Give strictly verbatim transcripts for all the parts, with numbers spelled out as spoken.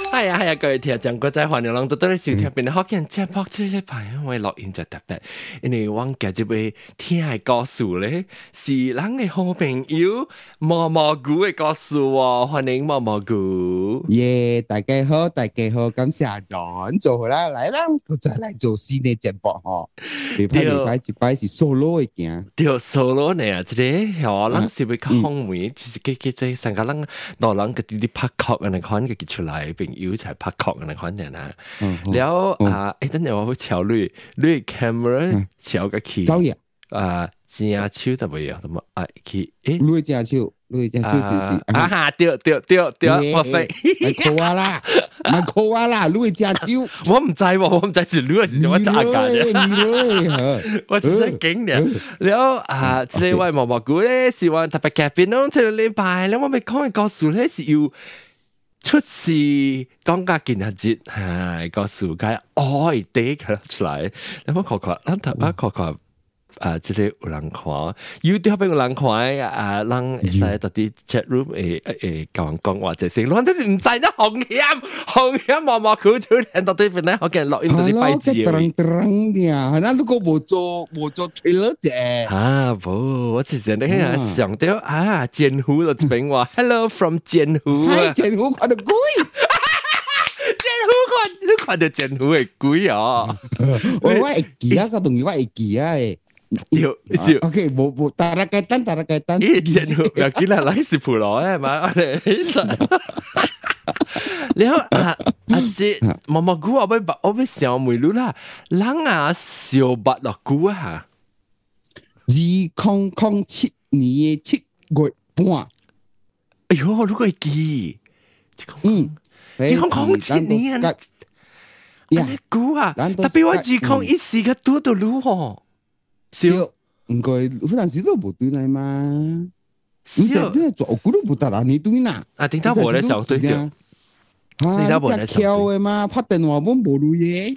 哎呀哎呀，各位聽眾，各位歡迎人都到嚟收聽，變得好見節目這禮拜，我錄音就特別，因為我今日要聽嘅故事咧，是咱嘅好朋友毛毛菇嘅故事喎，歡迎毛毛菇。 耶，大家好，大家好，感謝阿 John 做好啦，來啦，我再來做新嘅節目嗬。禮拜禮拜一擺是 solo 嘅件， 對 solo 呢啊，即係我咱是要較方便，其實佢佢即係成個咱老人個啲啲拍曲嘅那款嘅結出來，朋友才拍曲嘅那款人啊。然後啊，誒，等陣我會調你，你 camera 調個起，啊，正手就未有，咁啊，啊，去，誒， 你正手。你只就是是啊哈，對對對對，我飛， 咪扣啊啦，咪扣啊啦，你只手， 我唔知喎，我唔知是你係點樣炸嘅，我只係驚嘅。然後啊，這位毛毛菇咧是話特別嘉賓咯，這個禮拜咧我咪講嘅故事咧是要出事講家見下節，係個世界愛地佢出來，你冇看看，咱特別看看。啊！即係有人看 YouTube 邊有人看啊，人會使到啲 chat room 誒誒教人講話，即係我真係唔知得紅險紅險毛毛菇突然到啲邊咧，我見錄音到啲擺字。 噠噠啲啊！嗱，如果冇做冇做 trailer 啫。啊， 冇，我之前咧係想到啊，劍湖就邊話 Hello from 劍湖啊， 劍湖看到鬼， 劍湖看你看到劍湖係鬼啊！ 我我會記啊，個同學我會記啊誒。 對對 ，OK，冇冇，打下雞蛋，打下雞蛋。 咦，真係又見啦，嗱，是普羅係嘛？我哋，然後啊啊，即毛毛菇，我要我要想問你啦，人啊小八落菇啊， 二零零七年嘅七月半。 哎呦，你個記， 嗯， 二零零七年啊，呀，菇啊，特別我二零一四個多到如何？少唔該，嗰陣時都冇對嚟嘛。少真係做股都冇得啦，你對啦。 啊，點解冇咧想對掉？ 點解冇咧想對？嘅嘛，拍電話冇冇錄嘢。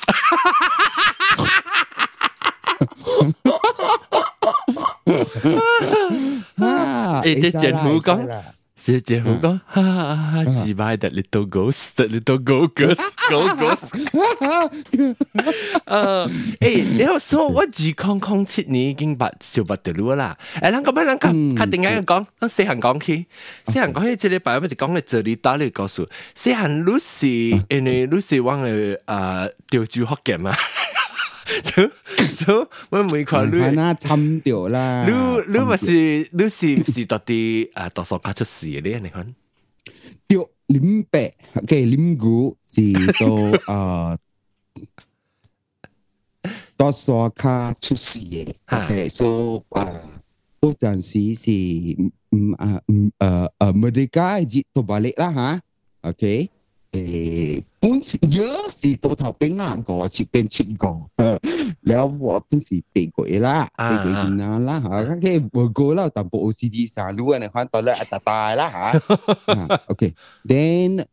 啊！誒，即係政府講。即係政府講，哈哈哈！自賣的 little ghost， little ghost， ghost。誒，誒，然後所以我二零零七年已經八小八條路啦。誒，咱咁樣，咱確確定嘅講，咱細行講起，細行講起，這禮拜我哋講嘅這裡打你告訴，細行你是因為你是往嘅啊潮州福建嘛。所所我每看你， 那參掉啦。 你你咪是你是唔是到啲啊讀書卡出事嘅咧？你看， 掉林北嘅林谷是到啊讀書卡出事嘅。OK，所以啊嗰陣時是唔啊唔誒誒唔理解熱到巴力啦嚇。OK。誒，本時有時到頭邊硬個，切邊切個，แล้ว我本時地鬼啦，地鬼點啦啦嚇，咁嘅我個啦，但部 O C D 上路嘅看到咧一大大啦嚇 ，OK，then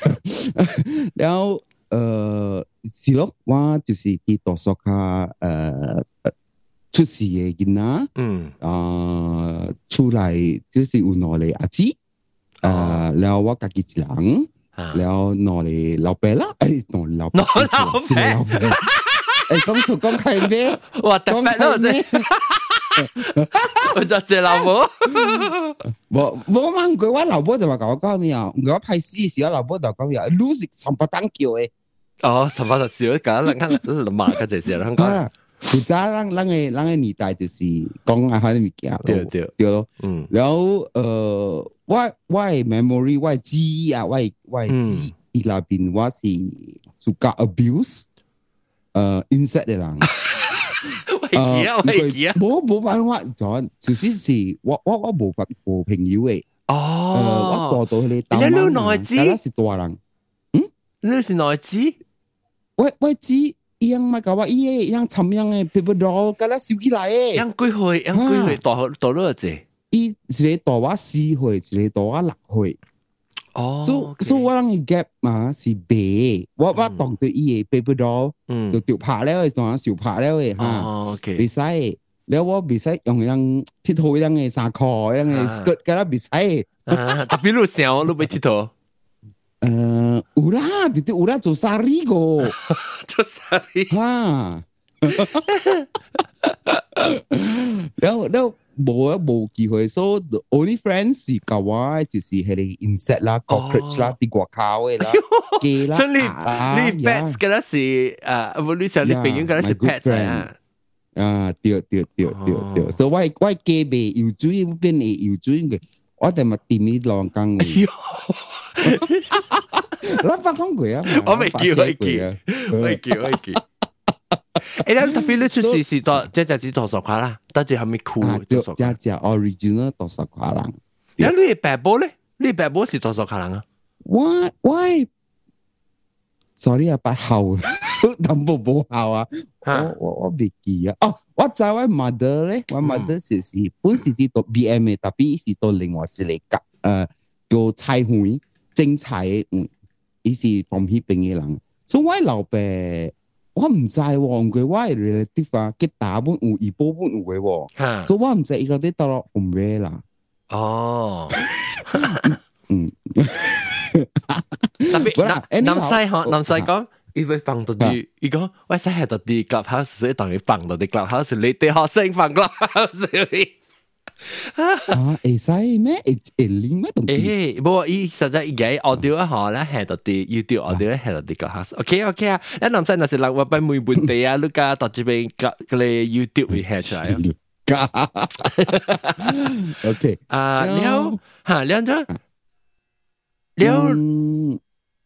แล้ว誒是咯，我就是啲讀書卡誒出事嘅囡仔，嗯，啊出嚟就是有攞嚟阿姊，誒，แล้ว我家己一人。แล้วนอนเลยเราไปละไอ้นอนเรานอนเราไปไอ้講錯講係咩？ 哇！特別咯，真我就借老婆。 冇冇嘛？佢話老婆就話講講咩啊？我拍戲時候老婆就講咩啊？你是三八當叫嘅。 哦，三八就少咗，咁人家罵嘅就係香港。 負責人人嘅人嘅年代就是講啊，啲物件咯， 對對對咯。嗯，然後誒。我我 memory 我記憶啊，我我記憶裏邊我是受過 abuse，誒 insect 嘅人。 我記啊，我記啊。 冇冇辦法講，就是是我我我冇冇朋友嘅。哦。我過到去大灣，但係是大人。嗯？ 你是哪知？ 我我知，樣咪搞話伊樣尋樣嘅 paper doll，咁啦燒起來嘅。 樣幾歲？樣幾歲？大大多隻？ 伊一個大我四歲，一個大我六歲。哦，所以所以我人嘅 gap 嘛是白，我我當對伊嘅 paper doll，嗯，就掉拍了嘅，當然少拍了嘅嚇。哦 ，OK，袂使，แล้ว我袂使用樣鐵頭樣嘅衫褲，樣嘅 skirt，咁啦袂使。 啊，特別你想，你袂鐵頭。 誒， 有啦，對對有啦，做生意個， 做生意哈。然後然後冇啊冇機會，所以 only friends 是搞我就是係啲 insect 啦、cockroach 啦、啲外口嘅啦、雞啦。 所以你你 pets 嗰啲是誒，無論係你朋友嗰啲是 pets 啊。 啊，對對對對對，所以我我雞未游水，邊會游水嘅，我哋咪掂呢兩羹嘅。我發講過啊， 我未叫，未叫，未叫，未叫。誒，你特別你出事是多，即係只多十塊啦，得住後面酷多十塊。 只只 original 多十塊人。 然後你白波咧，你白波是多十塊人啊？ 我我 sorry 啊，八號，淡薄冇號啊。我我我未記啊。哦，我知我 mother 咧，我 mother 就是本是啲讀 B M 嘅，特別是讀另外一個甲誒叫菜園種菜嘅，嗯，伊是from 迄邊嘅人。所以我老爸。我唔知喎，佢我係 relative 啊，佢大本有，二部分有嘅喎，所以我唔知依個啲到落紅咩啦。 哦， 嗯， 特別南南西嗬，南西講，伊會放到啲，伊講我使係到啲 clubhouse，所以當佢放到啲 clubhouse，你哋學生放 clubhouse。 啊，會使咩？會會拎咩東西？ 誒，冇，伊實在而家 audio 啊，嗬，咧係到啲 YouTube audio 咧係到啲個 house。OK OK 啊，一男仔那是人話俾每本地啊，你家到這邊個個咧 YouTube 會下出來啊。 OK， 啊，了嚇，了咗，了。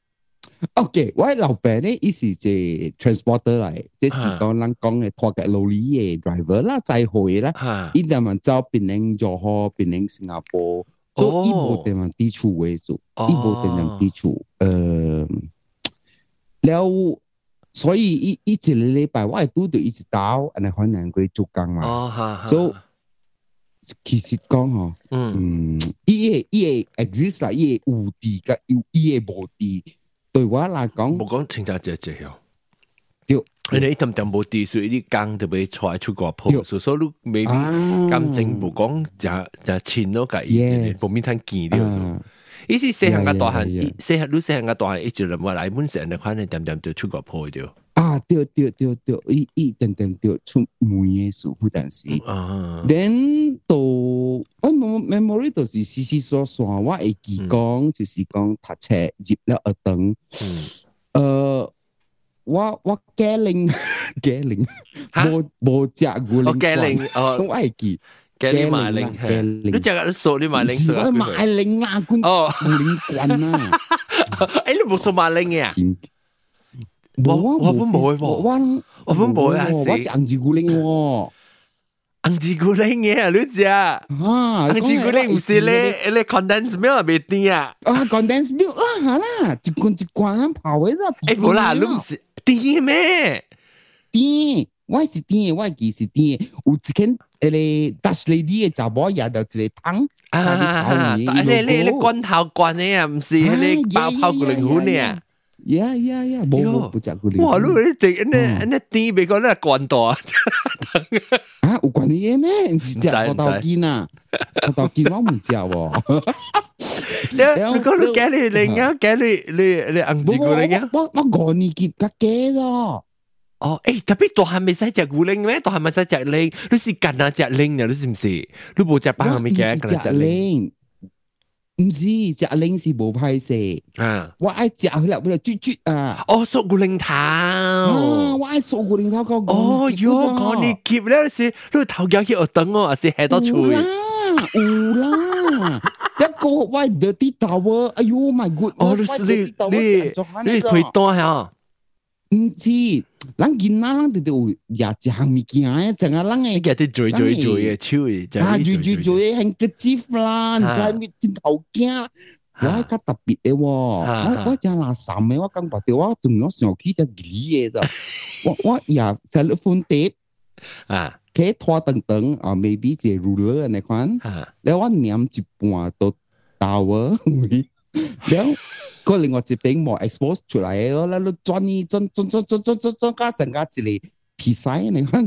OK，我老闆咧，伊是隻 transporter 嚟，即是講人講嘅拖嘅勞力嘅 driver 啦，載貨啦，伊哋咪走檳城、johor河、檳城、新加坡，所以伊冇地方地處為主，伊冇地方地處，誒，了，所以伊伊一個禮拜我係拄到一直到，安尼可能佢做工嘛，所以其實講嗬，嗯，伊個伊個 exist 啦，伊個有地甲有伊個無地。對我來講， 冇講清楚只只樣。 對， 你一點點冇地，所以啲工就俾出來出國鋪，所以你未必感情冇講就就錢咯，計嘅，冇面攤見了。伊是細漢個大漢，細漢你細漢個大漢，一直人話來本成，你看你點點就出國鋪掉。 啊，對對對對，伊伊點點就出梅嘅事，好但是。then 到我 memory 就是細細疏疏，我會記講就是講讀冊入了學堂。誒，我我家玲家玲，冇冇食古靈。我家玲，哦， 我係記。 家玲買玲，家玲。你隻個數你買玲數？ 我買玲啊，古古靈棍啊！ 誒，你冇數買玲嘅啊？ 我我本冇喎，我我本冇啊！ 我隻紅字古靈喎， 紅字古靈嘅你知啊？紅字古靈唔是咧，你 condensed milk 未甜啊？ 啊 condensed milk 啦，係啦，一罐一罐泡嘅啫。 誒，冇啦，你唔是甜咩？ 甜，我是甜，我記是甜。有一間誒，Dutch lady 嘅查某也就一個湯， 啊，你你你罐頭罐嘅啊，唔是你爆泡古靈粉嘅。 呀呀呀！冇冇冇食過你。 哇！你你哋呢呢啲美國呢罐頭啊？ 啊，有罐嘢咩？唔是食我豆見啊，我豆見我唔食喎。 你你講你假你你啱假你你你硬住古靈啊？ 我我講你結假嘅咯。 哦，誒，特別大漢未使食古靈咩？大漢未使食靈，你是干哪隻靈啊？你是唔是？你冇食白漢未嘅干哪隻靈？唔是，隻靈是無歹勢，啊！我愛食佢啦，佢啦啜啜啊！ 哦，縮骨靈頭， 啊！我愛縮骨靈頭個。 哦喲，講你夾咧是，你頭夾去學等我，還是下到吹？ 有啦，有啦，一個我 dirty towel，哎呦 my god！ 哦，你你你你推單嚇？ 唔知，人見啦，人哋就也一項物件嘅，淨係人嘅， 佢哋做做做嘅手嘅， 啊，做做做嘅係個紙啦，唔知咩尖頭鏡，我係較特別嘅喎，我我淨係垃圾嘅，我講白啲，我仲有上起隻魚嘅咋，我我也成日放碟，啊，佢拖等等啊 ，maybe 隻 ruler 你看，แล้ว我黏一半到到啊，แล้ว個另外一邊冇 expose 出來嘅咯，你轉呢轉轉轉轉轉轉轉加成加一個皮塞，你看，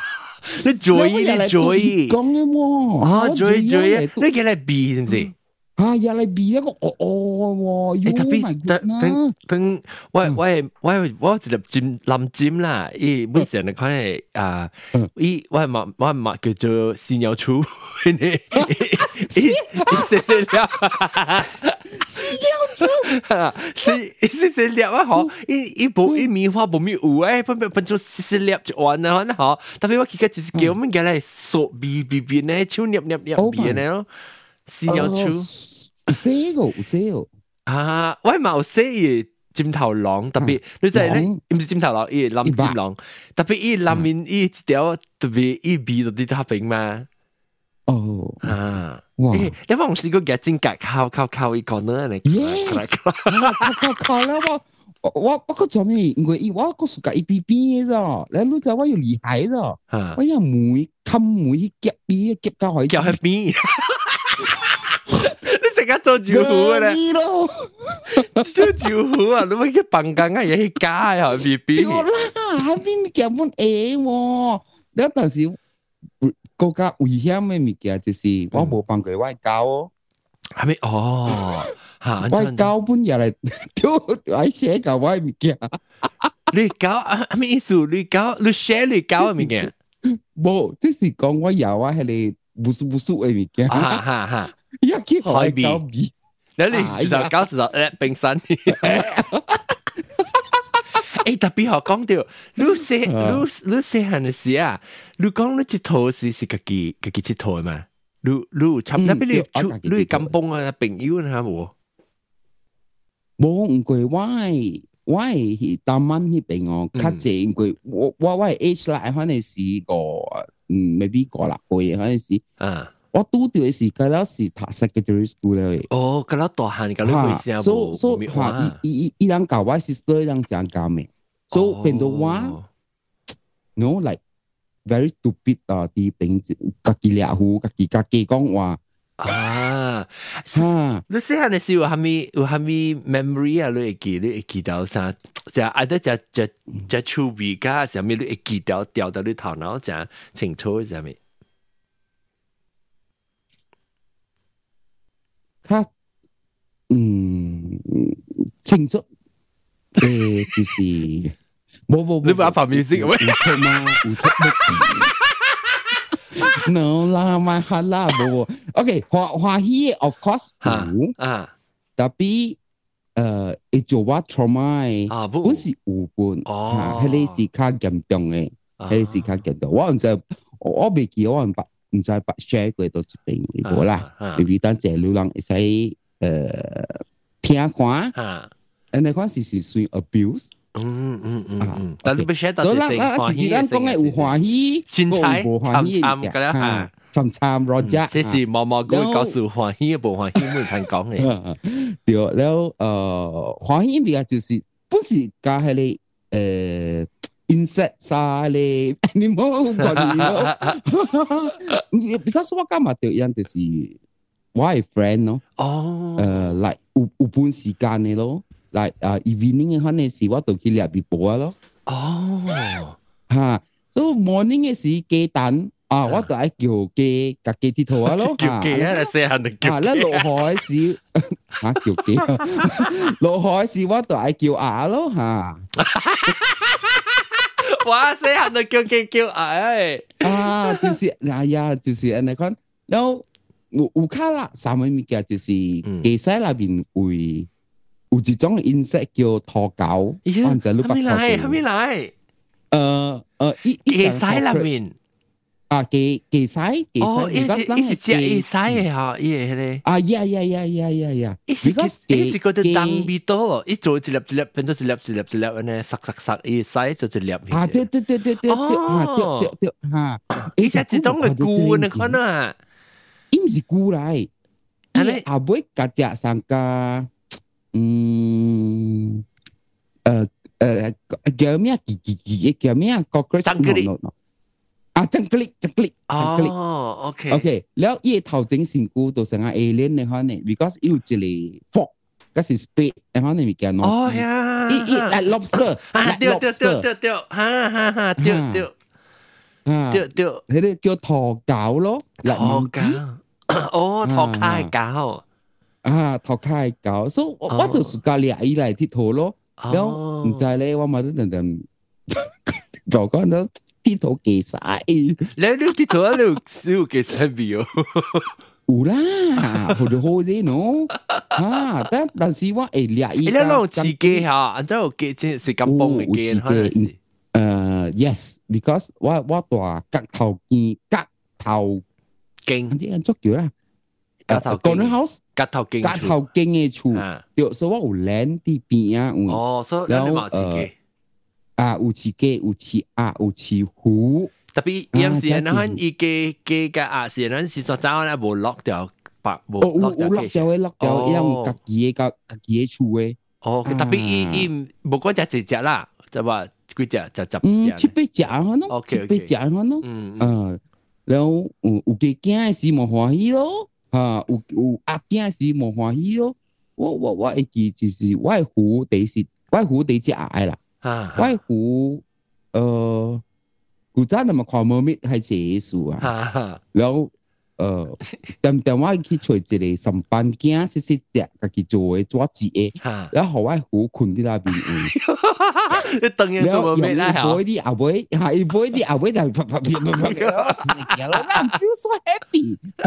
你做意你做意， 講嘅喎， 啊做意做意，你叫嚟避是唔是？ 啊，又嚟比一個哦哦喎， 特別特別別，我我我我一粒尖藍尖啦，伊本身你看誒啊，伊我嘛我嘛叫做屎尿粗，伊伊食食了， 屎尿粗， 食食食了啊！嗬，伊伊無伊棉花無咪有誒，分分分做食食了就完啦，嗬，嗬。特別我記得就是叫我們叫嚟索鼻鼻鼻呢，手捏捏捏鼻呢咯。屎尿粗， 有寫個有寫個啊！我嘛有寫伊尖頭狼，特別你知咧，唔是尖頭狼，伊藍尖狼，特別伊藍面伊一條特別伊鼻到啲塔邊嘛。哦啊！哇！你有冇試過夾尖夾靠靠靠伊個呢？你 yes，靠靠靠啦！我我我個做咩？因為我個暑假一邊邊嘅啫，你รู้จักว่าอยู่厲害啫，我有梅冚梅夾邊夾到海夾喺邊。你成日做招呼嘅咧，做招呼啊！你乜嘢笨緊啊？嘢去加啊！B B，對啦， 喺邊夾滿 A 喎，你但是國家危險嘅物件就是我冇辦過外交哦， 係咪？哦，嚇！ 外交本日嚟都喺寫舊外物件， 你搞係咩意思？你搞你寫你搞嘅物件， 冇，即是講我有啊，係你不熟不熟嘅物件， 哈哈哈。 一見海搞比， 你你就搞就誒冰山。誒特別好講到，你細你你細漢嘅時啊，你講你佚佗是是家己家己佚佗嘛？你你差唔多俾你出你甘榜啊朋友啊冇？ 冇唔過我我係當晚迄邊哦，較濟因為我我我 age 啦，可能是個嗯 maybe 個六歲，可能是啊。我拄到嘅時間咧是讀 secondary school 咧。哦，咁樣大漢，咁樣會聲無無咪話。伊伊伊人教我 sister， 人講教咩？所以變到我 ，no like very stupid 啊！啲平家己掠胡，家己家己講話啊。啊！ 你細漢嘅時候有蝦米有蝦米 memory 啊？你會記你會記到啥？就啊得只只只趣味加啥物？你會記到掉到你頭腦就清楚啥物？ 他嗯清楚，誒就是冇冇冇， 你把旁邊先喂， 烏托嗎？烏托？No 啦，咪係啦，冇。OK，華華語 of course 有啊，特別誒，一做我 trauma 啊，本是有本，哦，係你是較嚴重嘅，係你是較嚴重。我唔知，我未記我唔白。唔知白 share 過到一邊冇啦，特別當隻流浪會使誒聽看，誒你看是是算 abuse，嗯嗯嗯嗯，但你不 share 到係歡喜嘅，講嘅有歡喜，精彩，參參嘅啦，參參羅家， 這是毛毛哥告訴歡喜嘅，無歡喜冇人講嘅， 對，然後誒歡喜比較就是本是加係你誒。insect 啊，你 animal body 咯，because 我今日對人就是我係 friend 咯，哦，誒，嚟有有半時間嘅咯，嚟啊 evening 嘅可能是我到去入邊播咯，哦，嚇，所以 morning 嘅時雞蛋啊，我就係叫雞夾雞鐵頭啊咯， 叫雞啊，你細漢就叫雞， 啊，落海時嚇叫雞，落海時我就係叫鴨咯嚇。 哇！細漢就叫叫叫哎啊，就是哎呀，就是安尼講，然後有有卡啦，三個物件就是地西那邊會有一種 insect 叫拖狗，或者你白頭來，還沒來。 呃呃，一地西那邊啊，地地西地西， 哦，一是一是只地西嘅嚇，伊係咧。 啊呀呀呀呀呀呀！ 伊是伊是嗰啲當味道咯，一做一粒一粒變咗一粒一粒一粒咁樣，塞塞塞，伊西就一粒。 啊，對對對對對對，啊對對對，嚇！ 伊係一種嘅菇你看啊， 伊唔是菇嚟，伊阿妹夾隻上個，嗯，誒誒叫咩？幾幾幾叫咩？cockroach。啊，真格力，真格力， 哦 ，OK，OK，、 okay. okay. แล้ว伊頭頂成股到成個 alien 嘅可能 ，because 有一個 fork，嗰是 spade，嘅可能咪叫喏。 哦呀， 伊伊 like lobster， 啊，對對對對對，哈哈哈，對對， 啊，對對，迄個叫拖狗咯， 拖狗，哦，拖卡狗， 啊，頭殼高，所以我我就暑假掠伊來佚佗咯。然後唔知咧，我嘛都陣陣就講到佚佗幾曬。你你佚佗啊？你有幾曬味哦？ 有啦，好就好啲喏。啊，但但是我會掠伊。你那種飼雞嚇，安怎有雞？即係金邦嘅雞，可能是。 誒 ，yes，because 我我大角頭雞，角頭經， 啲人足叫啦。 角頭經 house， 角頭經， 角頭經嘅厝，對，所以我有land啲邊啊。 哦，所以你冇飼雞。 啊，有飼雞，有飼鴨，有飼虎。特別有時陣可伊雞雞甲鴨時陣是所走咧無落掉，白無落掉。有落掉嘅，落掉，因為家己嘅家家己嘅厝嘅。 哦，特別伊伊無講只隻隻啦，就話幾隻就十。 嗯，七八隻可能，七八隻可能。嗯嗯。然後有有雞驚嘅時冇歡喜咯，嚇有有鴨驚嘅時冇歡喜咯。我我我會記就是我係虎第是，我係虎第隻鴨啦。啊，我係虎，誒。古早那麼看貓咪係寫書啊，然後呃，點點我去找一個上班囝，細細隻，家己做嘅做字嘅，然後我好困喺那邊位， 你當然做貓咪啦， 然後一杯啲阿妹，係一杯啲阿妹就啪啪啪啪啪嘅，我唔 feel so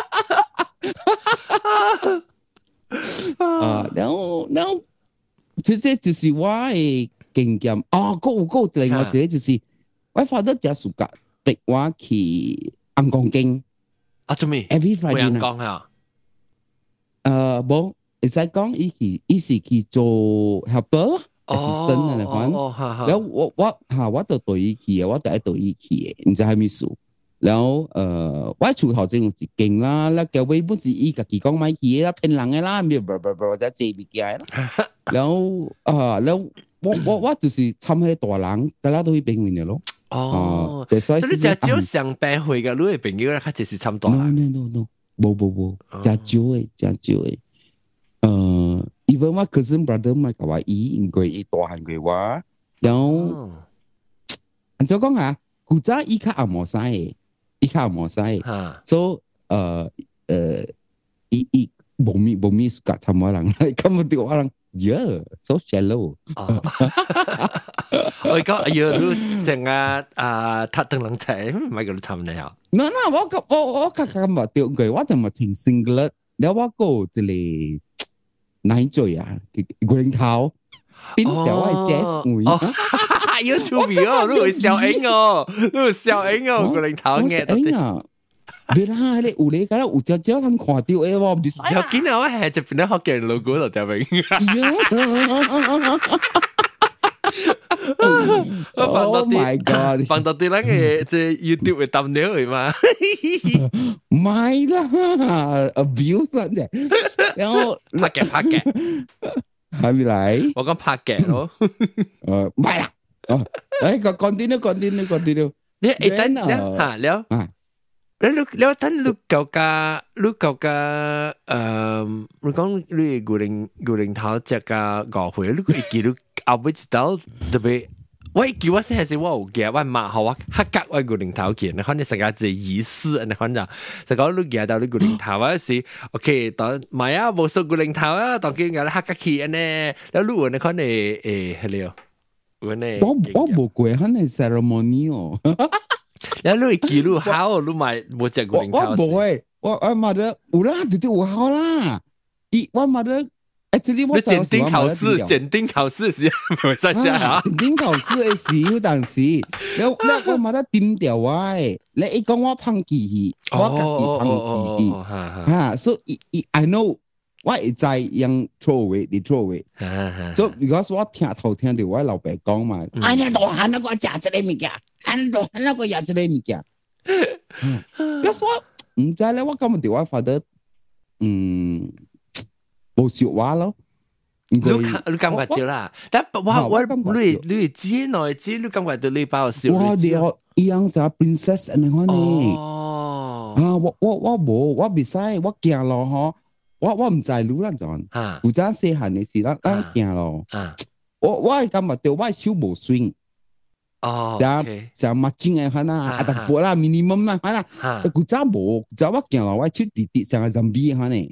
happy，啊，然後然後，這些就是我嘅經驗，啊，個個另外一個就是。我發得只暑假逼我去陽光徑啊，做咩 ？Every Friday 陽光啊？ 誒，冇，你使講伊去，伊是去做 helper assistant 啊，嚟講。然後我我嚇我就對伊去嘅，我就係對伊去嘅，唔知係咩事。然後誒，我厝頭前有一間啦，那叫尾本是伊家己講買去嘅啦，騙人嘅啦，咪啵啵啵，就借物件啦。然後啊，然後我我我就是參迄大人，大家都去邊緣嘅咯。 哦，所以你只少上班會嘅，你嘅朋友咧，佢就是差唔多。 No no no no，冇冇冇，只少嘅，只少嘅。誒 ，even 我 cousin brother 咪甲我伊，因為伊大漢過我，然後，按照講下，古早伊較阿毛曬嘅，伊較阿毛曬嘅，所以誒誒，伊伊冇咪冇咪夾參我人，咁我哋我人。Yeah, so shallow. 我講哎呀，你淨係啊，塔登冷車，唔係叫你參你啊？ 嗱嗱，我個我我個咁話掉佢，我就咪情 single，你我個即係奶嘴啊，個零頭邊條係 jazz 會， 要出名哦，你會笑影哦，你會笑影哦，個零頭嘅。 啊！你啦，你有你，咁有隻隻咁看到嘅喎，唔使啦。 有見到我係就變得學嘅 logo 度就明。 Oh my god！ 放到啲人嘅即係 YouTube 嘅thumbnail嚟嘛？ 唔係啦 ，abuse 啫。然後拍嘅拍嘅， 係咪嚟？ 我講拍嘅咯。 誒，唔係啦。哦，誒，個 continue continue continue。 你誒等嚇了啊！你你你等你舊家你舊家誒，你講你古靈古靈頭只個誤會，你會記到後尾一道特別，我記我先係時我有記，我媽學我黑格我古靈頭記，你看你成個字意思，你看就就講你記到你古靈頭嗰時 ，OK， 當買啊無數古靈頭啊，當見有黑格記安尼，แล้วรู้你看你誒係了，我我冇過喺你 ceremony 哦。 然後你記錄好，你買冇隻古靈頭。 我冇誒，我我媽的有啦，對對有好啦。伊我媽的，誒，這裡我檢定考試，檢定考試時冇參加啊。 檢定考試嘅時有當時，然後然後我媽的點掉我誒，你一講我胖記去，我家己胖記去，嚇，所以伊 I know 我會知樣 throw away，你 throw away。所以如果我聽頭聽到我老爸講嘛，哎呀，大漢那個食這個物件。安到那個也之類物件，咁所以唔知咧，我今日電話發得嗯冇説話咯。 你你感覺到啦，但我我你你知內知，你感覺到你把我笑。 我哋一樣成 princess 咁樣呢。哦，啊我我我冇，我唔使，我驚咯嗬，我我唔知路啦陣。啊，負責細漢嘅事啦，我驚咯。啊，我我係感覺到我手冇swing。 哦， 就就墨鏡嘅可能，啊特薄啦 ，minimum 啦，可能，古早冇，古早我見到我出滴滴成個 zombie 可能，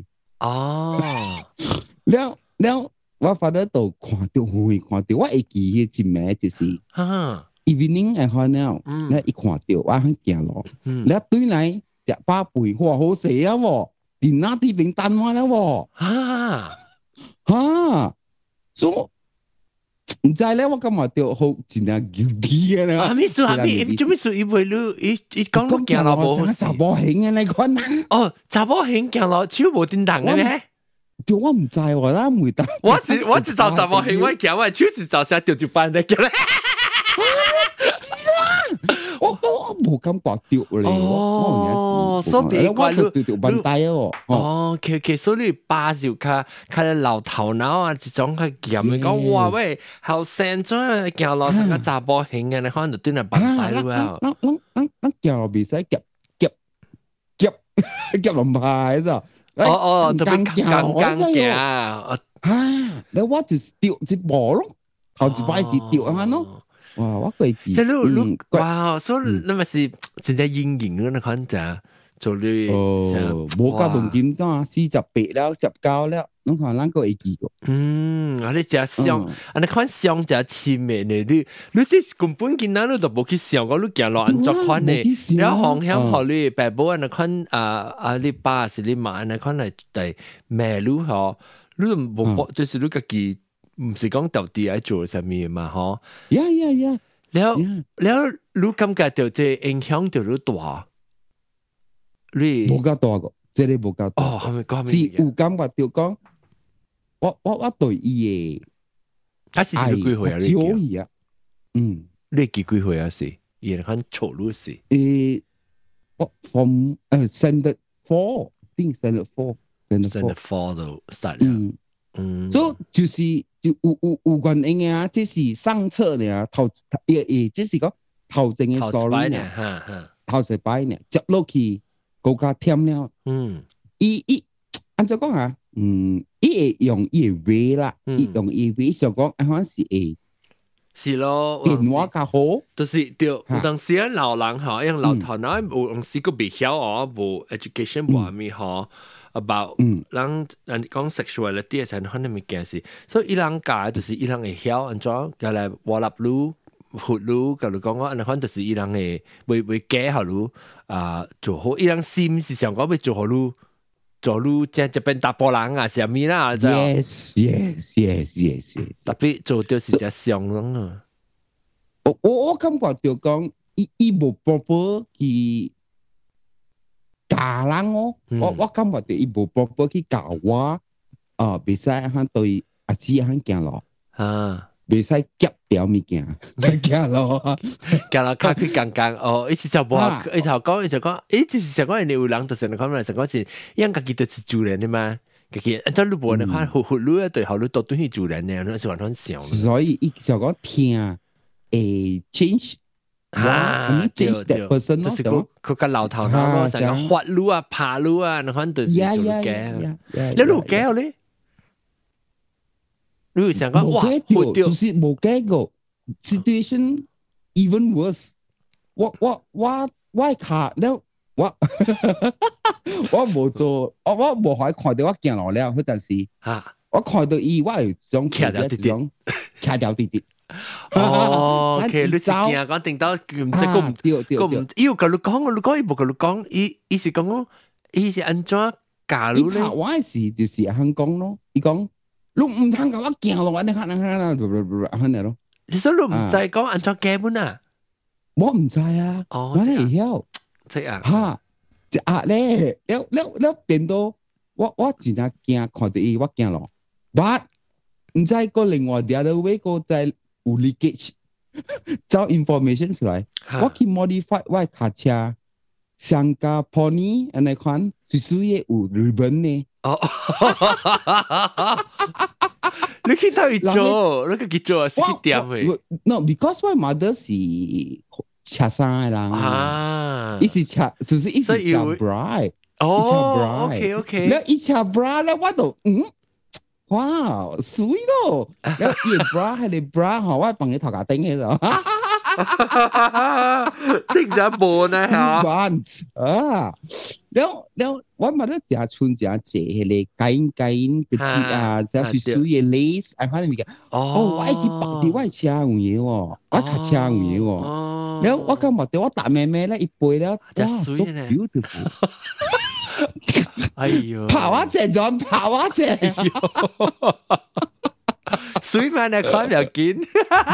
哦， 了了，我發得到看到會看到，我會記迄一名就是，哈 ，evening 係看了，咧一看到我很驚咯，咧對嚟食飽肥哇好食啊喎，連那啲餅單話啦喎，哈哈，所以唔知咧，我感覺到好真係 guilty 嘅咧。啊，咩事啊？咩做咩事？伊為了伊伊講到行路無好，查某型嘅你講啊？哦，查某型行路手無叮當嘅咩？對，我唔知喎，啦唔得。我只我只找查某型，我行我手是找啥掉就班的叫咧。我我冇感覺掉咧，哦，所以我掉掉掉bandai哦。哦 ，OK OK，所以巴就較較老頭腦啊，這種較鹹嘅講哇喂，後生咗行路成個查甫型嘅，你可能就對那bandai了。咱咱咱咱行路袂使夾夾夾夾龍牌咋？哦哦，特別剛剛行啊！啊，你我就掉一步咯，頭一擺是掉啊咯。哇！我記記，即係你你哇，所以你咪是真係陰影嗰款就做你哦，冇加動點㗎，四十八了，十九了，你看咱個會記個。嗯，啊你只想，啊你款想只前面嘅你，你即根本見到你都冇去想過，你行路安怎款嘅，然後方向學你爸母啊你款啊啊你爸是你媽你款嚟嚟馬路嗬，你都冇就是你自己。唔是講到底愛做什麼嘛，嗬？呀呀呀！แล้วแล้วรู้感覺到這影響到你大，你冇咁大個，這裡冇咁大。哦，係咪講？是有感覺到講，我我我對伊嘅，他是幾幾歲啊？你幾啊？嗯，你幾幾歲啊？是，伊係看錯路是。誒，我 from 誒 standard four，定 standard four，standard four 就 start 了。嗯，所以就是就有有有關係啊，這是上冊呢，頭也也就是講頭前嘅 story 呢，哈哈，頭一擺呢，接落去更加添了。嗯，伊伊按照講啊，嗯，伊會用伊嘅話啦，伊用伊話想講，好像是會是咯，電話較好，就是對，有當時啊老人嚇，因為老頭嗱有當時個未曉哦，無 education 無咩嚇。about 人人講 sexuality 係可能物件事，所以伊人教就是伊人會曉安怎叫來挖立路、活路，甲你講講，安尼款就是伊人會會會教好路啊做好，伊人心是想講要做好路，做路即係變大波人啊，是咪啦？Yes yes yes yes yes，特別做到是只上人啊。我我我感覺就講，伊伊無 proper 去。教人哦，我我感覺到伊無 proper 去教我，啊，袂使響對阿姊響行路，啊，袂使夾條物件，行路，行路較去剛剛哦，伊是就無，伊就講，伊就講，伊就是想講，你有人就是你講嚟，就講是，因家己就是主人的嘛，家己，按照你無你看，活活路對好路都對係主人嘅，你是完全想。所以伊就講聽，誒 change。啊，對對，就是佢佢個老頭頭咯，成個滑路啊、爬路啊，你可能就是做嘅。你路嘅咧？你會想講哇，就是冇嘅個 situation even worse。我我我我卡了，我我冇做，我我冇可以看到我行路了，嗰陣時嚇，我看到伊，我係種騎掉啲啲，騎掉啲啲。哦 ，OK，你真驚講定到唔知個唔個唔，伊有甲你講，我講伊無甲你講，伊伊是講講，伊是安怎教你咧？我是就是肯講咯，伊講你唔通甲我行路，安尼安尼安尼安尼咯。你說你唔知講安怎教本啊？我唔知啊，我嚟曉，即係嚇，即係咧，了了了變到我我真係驚看到伊我行路，但唔知個另外啲other way個在。有 leakage 找 information 出來，我去 modify 我卡車，上架 pony 安尼款，隨時也有 ribbon 呢。哦，你去到去做，你去做是幾點嘅 ？No， because my mother 是車衫嘅人啊，伊是車，是不是？伊是車 bra， 哦 ，OK OK， แล้ว伊車 bra แล้ว我就嗯。哇，水咯！有熱 bra 係你 bra 嗬，我係幫你頭殼頂嘅就。 正常無呢嚇。 months 啊，了了，我咪得成村成借迄個緊緊嗰啲啊，就係水嘅 lace，哎，反正咪嘅。哦，我去白啲，我係車有嘢喎，我開車有嘢喎。了我今日對我大妹妹咧一杯咧，哇，so beautiful。 哎呦， 跑啊正咗，跑啊正。 水慢嚟看又見，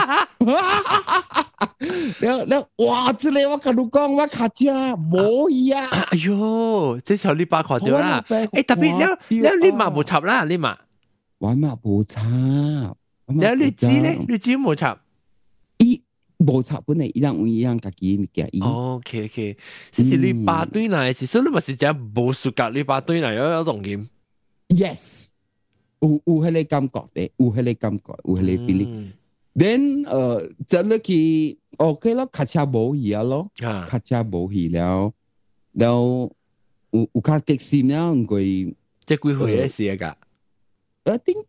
了了，哇！這裡我跟你講，我卡車冇呀。 哎呦，這時候你把看到啦。誒，特別了了，你嘛冇插啦，你嘛。 我嘛冇插。 了你知咧，你知冇插？ 伊冇插本嚟，一樣一樣自己物件。 OK OK，即是你把對嚟是，所以你咪是講冇數格，你把對嚟有有重點。 Yes。有有迄個感覺的，有迄個感覺，有迄個 feeling。Then 呃，就落去 OK 咯，卡車冇去啊咯，卡車冇去了，了有有較激心了，因為即幾歲嘅事㗎？ 我think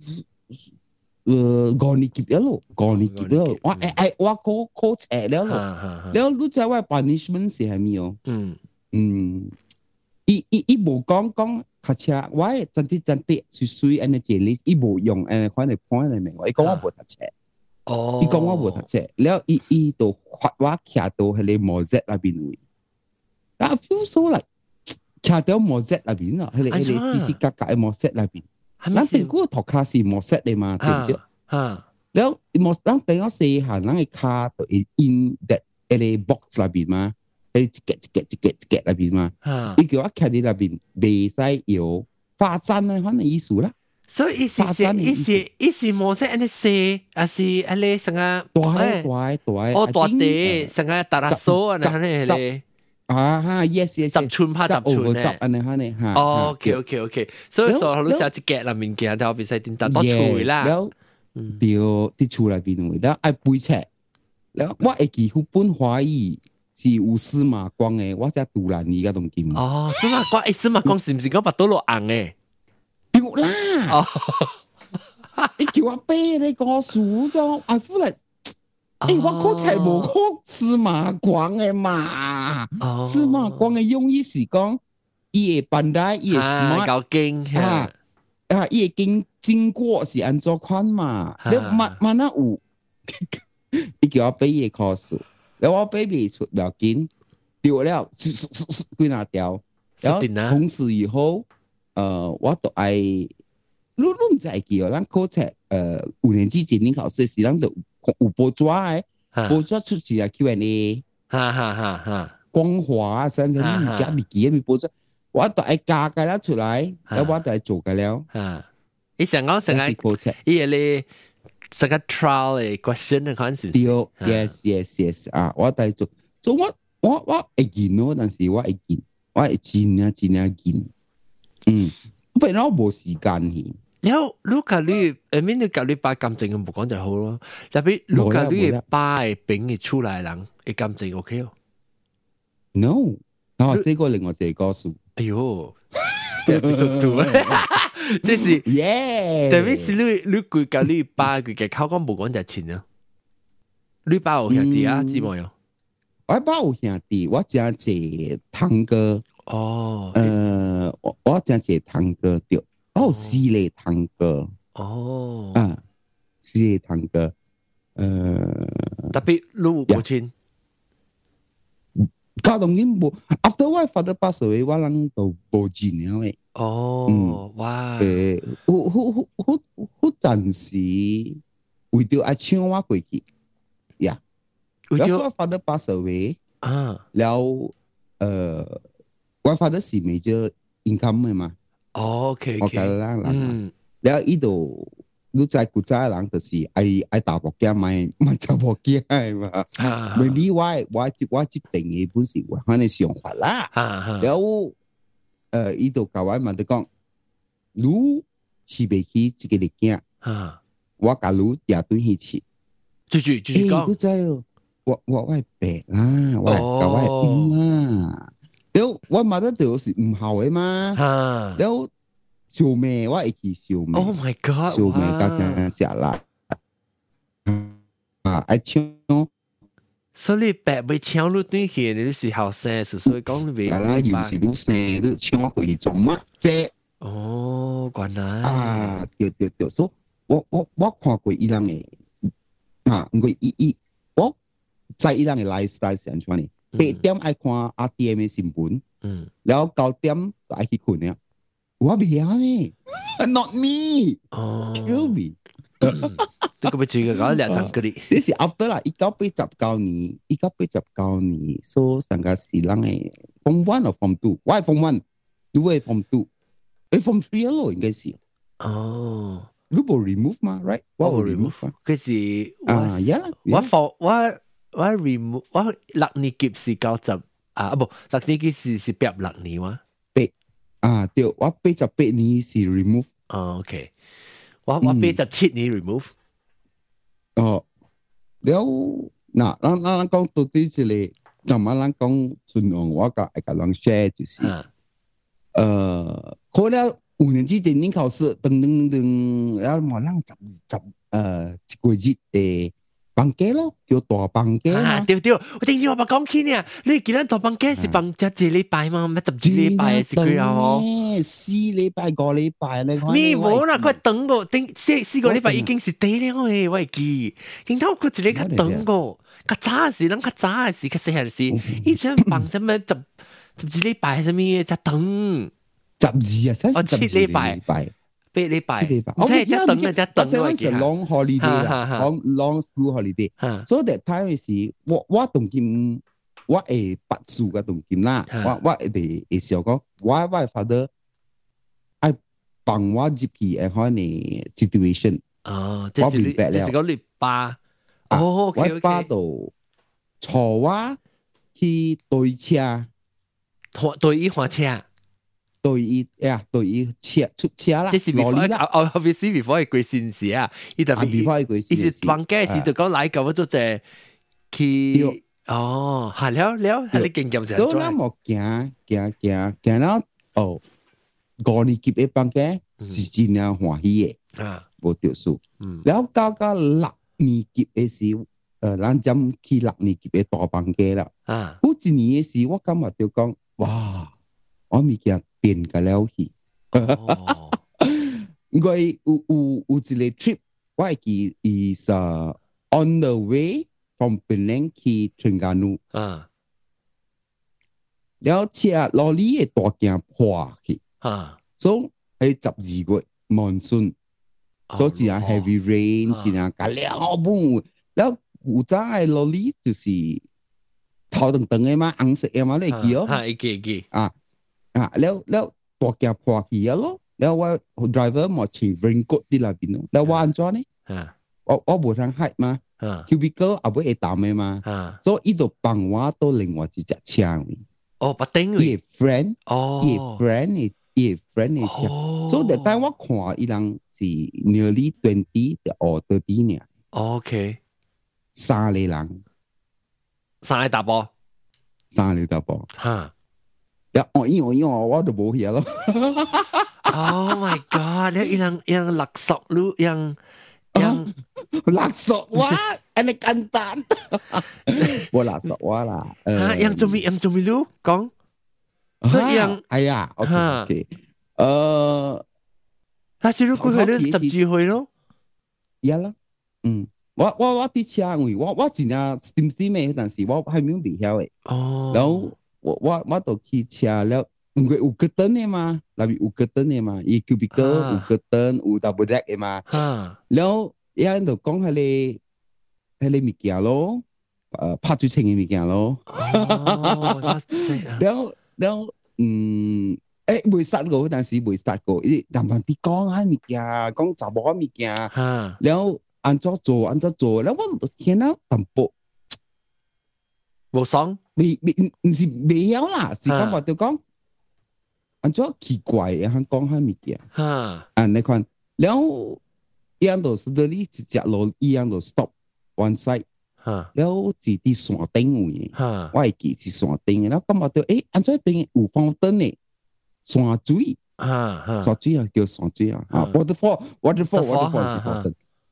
呃五年級了咯，五年級了，我誒誒，我考考冊了咯，了你知我 punishment 是係咩哦？嗯嗯，伊伊伊冇講講。卡車，我係真啲真啲，水水安尼隻哩，伊無用誒，款嚟判嚟明，伊講我無讀冊，哦，伊講我無讀冊，แล้ว伊伊就發我徛到迄個毛澤那邊位，啊 feel so like 徛到毛澤那邊啊，迄個迄個絲絲格格嘅毛澤那邊，咱定嗰個頭殼是毛澤嘅嘛，對唔對？嚇，แล้ว毛咱等我試下，咱嘅卡就 in that 迄個 box 那邊嘛。一格一格一格一格那邊嘛，伊叫我徛喺那邊，未使有發展咧，反正意思啦。 所以意思是意思意思模式安尼寫，還是安尼成個大大大， 哦大地成個大垃圾安尼安尼嚟。 啊哈 ，yes yes， 十寸拍十寸咧， 安尼安尼嚇。 OK OK OK，所以說你成一格那面件，就比賽點打多處啦。 了，掉啲厝內邊位，了愛背冊，了我會記副本華語。是有司馬光嘅，我只杜蘭爾嗰棟劍。 哦，司馬光，誒，司馬光是唔是講把刀落硬嘅？ 對啦。哦，你叫我背你個書咗，I feel like，誒，我考冊無考司馬光嘅嘛。司馬光嘅用意是講，伊嘅bandai，伊嘅 smart， 夠勁啊啊，伊嘅經經過是安怎款嘛？你慢慢啊有，你叫我背伊嘅考書。然後我 baby 出不要緊，掉了，歸哪掉？然後從此以後，呃，我都愛，你你唔知記哦，咱考冊，呃，五年級檢定考試時，咱都有報紙誒，報紙出字啊 Q and A， 哈哈哈哈， 光華啊，甚至你而家未記咪報紙，我都愛加嘅啦出來，然後我都愛做嘅了。啊， 你成個成個考冊，伊個咧。成個 trial 嘅 question 嘅款是。對 ，yes yes yes 啊！我帶做，做我我我會見咯，但是我會見，我係盡啊盡啊見。嗯，不然我冇時間去。 แล้วลูกกับลูกเออไม่นึกกับลูกป้า感情唔講就好咯。特別ลูกกับลูกป้係餅嘅出來人，嘅感情 OK 哦。 No，啊，這個另外一個故事。 哎呦！episode two 即是，特別是你你佢甲你爸佢嘅口講無講就錢啊！你爸有兄弟啊？姊妹有？ 我爸有兄弟，我真係堂哥。哦，呃，我我真係堂哥對，哦，四個堂哥。哦，啊，四個堂哥，呃， 特別你有母親。 家當然冇 ，after 我 father pass away，我人都冇錢了誒。 哦，嗯、哇！ 誒，好好好好好暫時為咗愛搶我過去，呀、yeah. 了我 father pass away，啊，了誒，我 father 是 major income 嘅嘛。 哦 ，OK OK，啦啦，嗯，了依度。你知古仔人就是愛愛大波驚買買查波驚係嘛？maybe 我我我這邊嘅本事我可能想法啦。然後誒，伊度教我問你講，你是未去這個嚟驚？我假如也對去吃， 繼續繼續講。 誒，你知我我我係白啦，我係教我係唔啦。然後我問得到是唔好嘅嘛？然後。小妹，我會去小妹。 Oh my god！ 小妹家陣食啦，啊！愛搶所以白被搶入短去，你是後生，所以講你未。 係啦，有時都生都搶回做乜啫？ 哦，原來啊，對對對，所以我我我看過伊人嘅啊，唔過伊伊我在伊人嘅 lifestyle 是安怎呢？八點愛看 R T M 嘅新聞，嗯，然後九點就愛去困了。我未曉呢 ，not me，哦 ，kill me。 呢個咪最嘅講兩層嗰啲， 這是 after 啦，一九八十九年，一九八十九年，所以成個是人嘅 form one 或 form two， 我係 form one， 你係 form two， 誒 form three 咯，應該是。哦，你冇 remove 嘛 ，right？ 我冇 remove 啊。 佢是啊，呀啦， 我 for 我我 remove 我六年級是九十啊，不六年級是是八六年哇。 八啊，對，我八十八年是 remove。 哦 ，OK， 我我八十七年 remove。 哦，了，嗱，咱咱講到底這裡，咁啊，咱講順用我個一個人 share 就是，呃，考了五年級電影考試，噔噔噔，然後冇人十十呃一個月嘅房價咯，叫大房價嘛。 對對，我頂次我咪講起呢，你記得大房價是房只一禮拜嘛，唔係十幾禮拜是幾啊？哦， 四禮拜個禮拜咧。 咪冇啦，佢等我頂四四個禮拜已經是第了誒，我係記。點解佢一日佢等我？較早時，咱較早時，較細漢時，以前房什麼十十幾禮拜什麼嘢才等。 十二啊， 哦七禮拜。八禮拜，唔使只等嘅，只等我記得。long holiday 啦 ，long long school holiday。所以 that time 時，我我同佢，我係八歲嘅同佢啦，我我哋係想講，我我 father 愛幫我入去誒嗰個 situation。 哦，即係你，即係講你爸。哦， 我爸度坐我去對車， 對伊換車。 對伊呀，對伊車出車啦， 即是 before，哦 obviously before 係貴先時啊，伊特別 before 係貴先時， 伊是房價時就講來個，我做隻去，哦，係了了，係你經驗就係。 都那麼行行行行到哦，五年級嘅房價是真係歡喜嘅，啊，冇條數。然後到到六年級嘅時，誒，咱針去六年級嘅大房價啦，啊，嗰一年嘅時，我感覺就講，哇，我物件。變個了去，我有有有一個 trip， 我係記is on the way from Penang 去 Terengganu，啊，แล้ว車羅里嘅大鏡破去，啊，所以係十二月 monsoon， 所以係 heavy rain，真係加了本，แล้ว有陣係羅里就是頭等等嘅嘛，紅色嘅嘛，你記哦， 係記記啊。啊，แล้วแล้วตัวแกพอขี่แล้วแล้วว่า driver หมดชิง raincoat ที่ลาบินแล้วว่าอันจ้อนี่我我冇通開嘛 cubicle 阿妹會打咩嘛所以伊度幫我到另外一隻車哦把頂伊 friend 哦伊 friend 伊 friend 嘅車所以但我看伊人是 nearly twenty or thirty 年 OK 三個人三個大波三個大波哈呀，我因我因我我都冇嘢咯。 Oh my god！ 你yang yang 勒索lu yang yang 勒索我，安尼簡單。我勒索我啦。 嚇，yang 做咩？yang 做咩lu？講。所以 yang 係啊 ，OK， 誒， 但係如果佢哋十幾歲咯， 呀啦，嗯，我我我啲車位，我我真係點知咩？但是我係冇未曉嘅。哦。然後。我我我都騎車了，唔過有個燈嘅嘛，那邊有個燈嘅嘛，伊 cubicle 有個燈，有 double deck 嘅嘛。然後有人就講係你係你物件咯，誒拍最清嘅物件咯。然後然後嗯，誒未殺過，但是未殺過，伊慢慢啲講下物件，講查某物件，然後按怎做按怎做，然後我聽到淡薄冇爽。 未未唔是未有啦，是感覺就講，安怎奇怪嘅，佢講下物件，啊，你看，然後一樣都是嗰啲一隻路一樣都 stop one side，然後是啲山頂位，我係記是山頂嘅，然後感覺到誒，安怎邊有放燈嘅山水，山水啊叫山水啊，啊 waterfall waterfall waterfall 是放燈。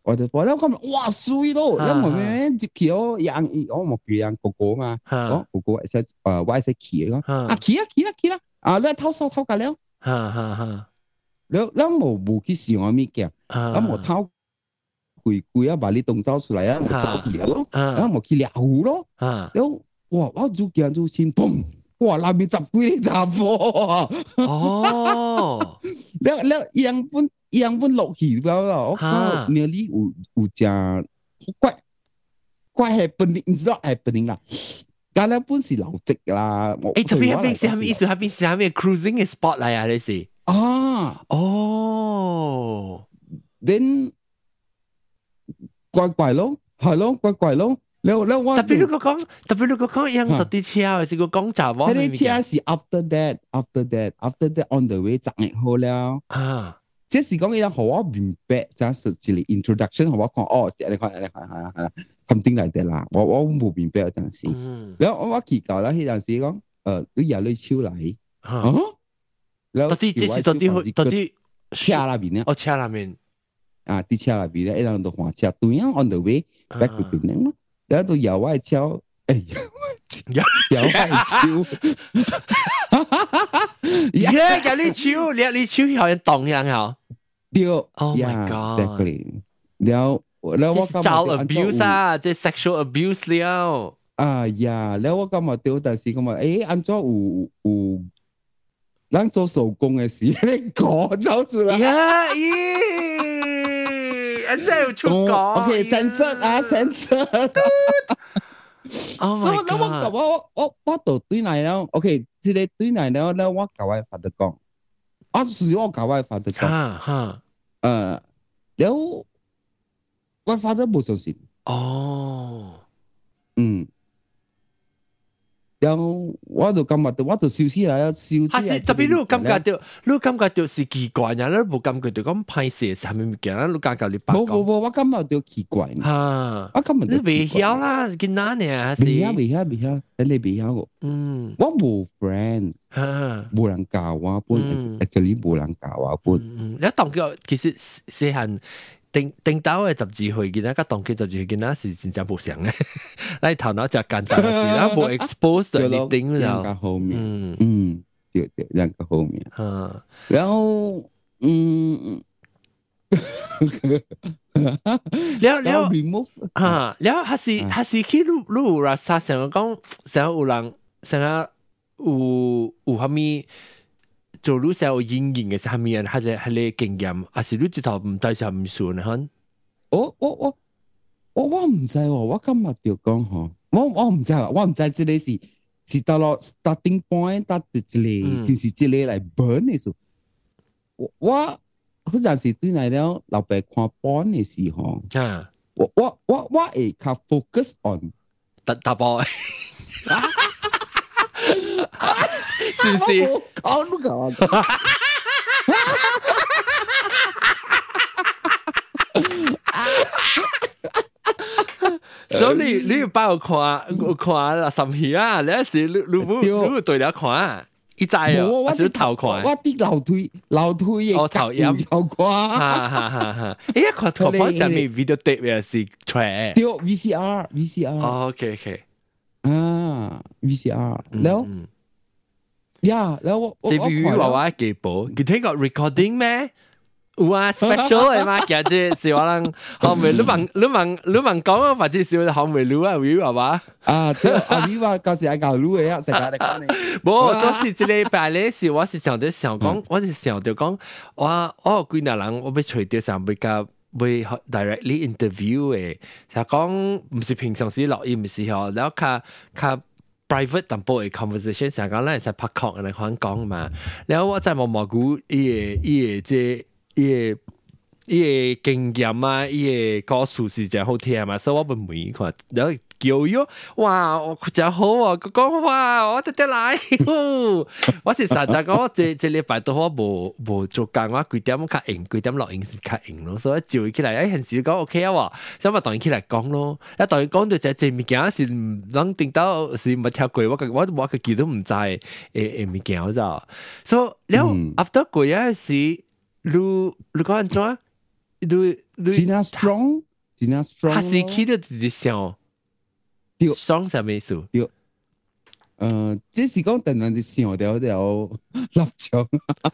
waterfall，然後咁哇水咯，然後我們接去哦，養我冇佢養哥哥嘛，哦哥哥係誒我係識騎嘅，啊騎啦騎啦騎啦，啊你偷手偷架了， 哈哈哈， 然後然後冇冇去試我咪嘅，然後冇偷攰攰啊，把你動作出來啊，冇走去咯，然後冇去獵虎咯，然後哇我做見做先砰，哇那邊十幾個雜貨，哦，然後然後養本。樣本落去咗啦，我靠！你呢有有隻怪怪 happening， not happening 啦。但係本是流跡啦。 誒，特別係邊是係咩意思？係邊是係咩 cruising 嘅 spot 嚟啊？你是啊？ 哦 ，then 怪怪咯，係咯，怪怪咯。你你我特別你個講，特別你個講樣特啲車，還是個講雜話？ 嗰啲車是 after that，after that，after that on the way 賺日好了啊。即是講嘢好我明白，就係一個 introduction 好我講哦，你看你看係啦係啦 ，something like that 啦，我我冇明白嗰陣時，然後我我祈求啦，嗰陣時講，誒，你入你超嚟，啊，然後到底即是到底到底車那邊咧， 哦車那邊， 啊啲車那邊咧，一路到換車，對啊 on the way back to Penang 咯，然後到搖外超，誒搖搖外超。 耶！有你超，你你超好像動樣好。 對 ，Oh my god！ 然後然後我咁招 abuse 啊，即 sexual abuse 了。 啊呀，然後我咁啊對，但是咁啊，誒，按照有有，咱做手工嘅事，你講走出來。 呀咦！安真有出講。 OK， censored 啊 ，censored。 Oh my god！ 我我我我到對嚟了 ，OK。即係對嚟了咧，我教我發得講，啊是我教我發得講，哈哈，誒，แล้ว我發得冇相信，哦，嗯，然後我就感覺到，我就笑起來，笑起來。 係特別你有感覺到，你有感覺到是奇怪呀？你冇感覺到咁歹勢係咩物件？你感覺你白講。 冇冇冇，我感覺到奇怪。嚇，我感覺你未曉啦，是囡仔呢？ 未曉未曉未曉，你未曉個。嗯，我冇 friend， 冇人教我本 ，actually 冇人教我本。 嗯，你當叫其實細漢。頂頂到嘅十二歲，見到個當機十二歲，見到是真正冇想嘅。你頭腦就簡單嘅事，然後冇 expose 你頂咗。 人後面，嗯嗯，對對，人個後面。啊，然後嗯， แล้วแล้วอ่าแล้วฮัสซีฮัสซีคิดรู้ว่าซาเสียง講想有人想有有蝦米。做路上有陰影嘅係咪啊？還是係你經驗，還是你直頭唔帶上唔算啊？ 我我我我我唔知喎，我今日就講嗬，我我唔知，我唔知這裡是是到落 starting point， 到這裡就是這裡來 burn 嘅時候，我我好像是對嚟了老爸看 burn 嘅時候，啊，我我我我會較 focus on 打打波。是不是？ 講都講。 所以你你把我看，我看啦，什麼啊？你一時你你唔你唔對了看，一知哦，還是頭看？ 我啲樓梯樓梯嘅哦頭音頭看。 哈哈哈哈！誒，看看看上面 video tape 嘅是出嚟。 對 V C R V C R。 哦 OK OK。 啊 V C R，แล้ว呀，แล้ว我這邊娃娃幾部，佢聽過 recording 咩？有啊 special 嘅嘛，其實是話人後面你問你問你問講啊，或者是後面錄啊 view 係嘛？ 啊，對啊 view 啊，嗰時係搞錄嘅啊，成日嚟講你。 冇，嗰時這禮拜咧是我是想到想講，我是想到講，我我幾個人我要隨掉上比較。會 directly interview 嘅，就講唔是平常時錄音嘅時候，然後較較 private 淡薄嘅 conversation，成日講咧係拍殼嚟講講嘛。然後我再望望估伊個伊個即伊個伊個經驗啊，伊個故事是真好聽嘛，所以我唔每看，然後叫喲，哇，真好啊！佢講哇，我得得來，我是實在講，我這這禮拜都我無無做工，我幾點較硬，幾點錄音是較硬咯，所以照起來，誒，陣時講 OK 啊喎，所以咪當然起來講咯。一當然講到就這物件是唔能定到是唔跳過，我個我我個記都唔知誒誒物件咋，所以了 after 過一時，你你講安怎？ 你你真啊 strong， 真啊 strong。 哈士奇都直接想， 對 strong 什麼意思？ 對，呃，這是講突然就想到條臘腸。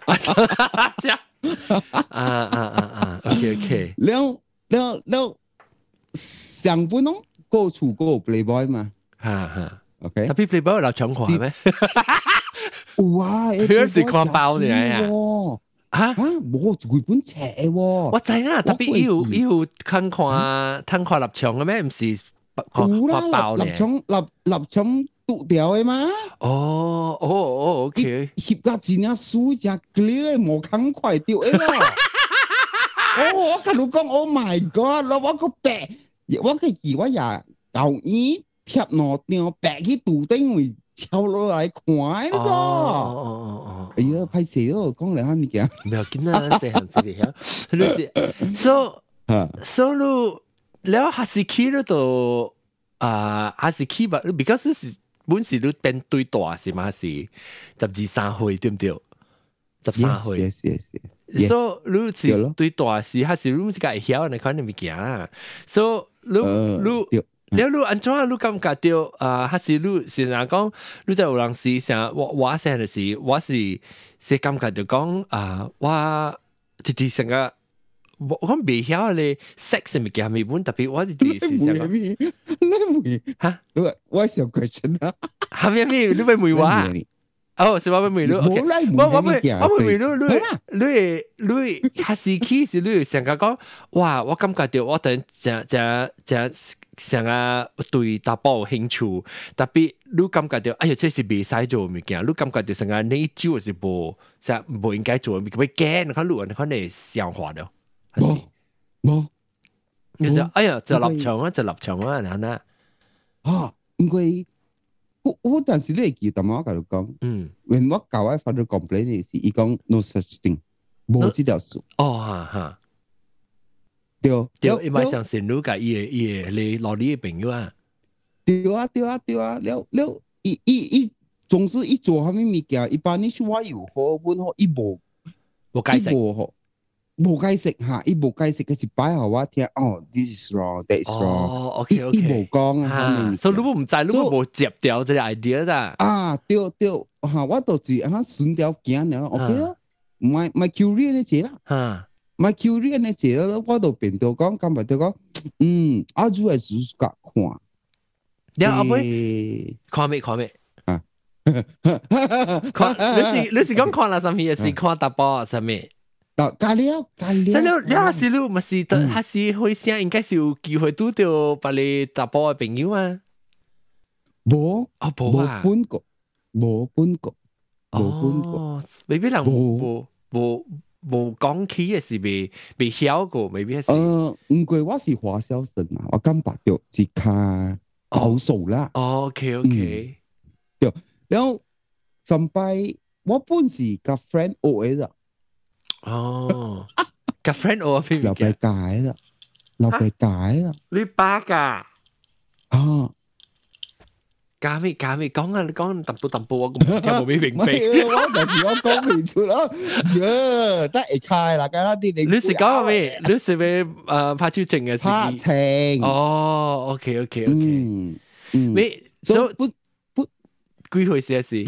啊啊啊啊 ！OK OK。 แล้วแล้วแล้ว上半咯，個處個 playboy 嘛。 哈哈 ，OK。 但係 playboy 有臘腸看咩？ 有啊， 佢是看包嚟啊。啊！ 冇佢本冊喎， 我知啦，特別伊有伊有看看看看臘腸嘅咩？唔是看看包咧。 臘腸臘臘腸剁掉嘅嘛？ 哦哦哦 ，OK。 翕個真啊水只 clear 冇看快掉嘅啦。哦，我同你講 ，Oh my God！我個白，我個字我也舊衣貼落掉白去杜丁會抄落來看嘅咯。哦哦哦！哎呀，拍攝咯，講嚟下物件。 唔要緊啊，細行子嚟嚇。你是所所路了哈士奇咧度啊，哈士奇吧，because 是本時都變對大是嘛是十二三歲對唔對？十三歲。Yes yes yes。所以你是對大是還是你是個會曉嚟看啲物件啦。所以你你。了你安怎你感覺到啊？還是你是人講你在有人是想我我想的是我是是感覺到講啊，我直直成個我講未曉咧 sex 物件咪本特別我直直是想講， 你妹嚇？我我想 question 啊， 係咪咪你咪妹話？哦，是我咪妹你，我我咪我咪妹你你你你還是其實你成個講哇，我感覺到我等正正正。想啊對打包有興趣，特別你感覺到哎呀，這是未使做物件，你感覺到成個你招是無，實無應該做，咪咪驚，你看路人，你看你想法了， 冇冇， 你就哎呀，就立場啊，就立場啊，嗱嗱， 啊，因為我我當時你記得嘛，我同你講，嗯，when我教我 father complain 是，伊講 no such thing，冇呢條數， 哦哈哈。 對對，伊咪想善女甲伊誒伊誒你老你誒朋友啊。 對啊對啊對啊，了了，伊伊伊總是伊做蝦米物件，一般你說我有好本好，伊無無解釋， 無無解釋嚇，伊無解釋嘅是擺互我聽，哦 ，this is wrong，that is wrong。哦 ，OK OK。 伊無講啊， 所以你唔知，你無接掉這個 idea 啦。 啊，對對，嚇，我就是嚇順條行了 ，OK 啦，唔係唔係 curious 呢隻啦。嚇。my curious 呢隻咯，我都變到講，咁咪就講，嗯，阿主係主角看， 你阿妹看咩看咩啊？看你是你是講看啦，什麼也是看打包什麼？ 打加料加料， 所以你還是你咪是還是會想應該是有機會拄到把你打包嘅朋友啊？ 冇啊冇啊， 冇搬過，冇搬過，冇搬過， 未必人冇冇。無講起嘅是未未曉過，未必係。 誒，唔過我是華小生啊，我感覺到是較保守啦。 哦 ，OK OK。 對，然後上擺我本是甲 friend 學嘅啦。 哦，甲 friend 學邊？ 老白解啦，老白解啦。 你巴噶？ 啊！ 加咩加咩講啊！你講淡薄淡薄，我咁聽冇咩明白。 我但是我講唔出咯，呀，得會開啦，梗係啲你。 你是講咩？你是咩？誒，拍照證嘅事。 拍情。 哦 ，OK OK OK。 嗯嗯。 你所不不幾歲時事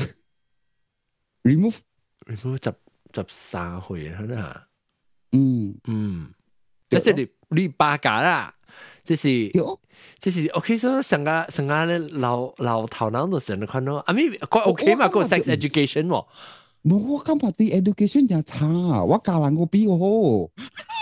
？remove remove 十十三歲啦。 嗯嗯，即係你你八架啦。即是，即是 OK，所以成個成個咧老老頭腦都成日看到，啊咪，佢 OK 嘛，個 sex education 喎。 冇，我感覺啲 education 真差，我教人個比我好。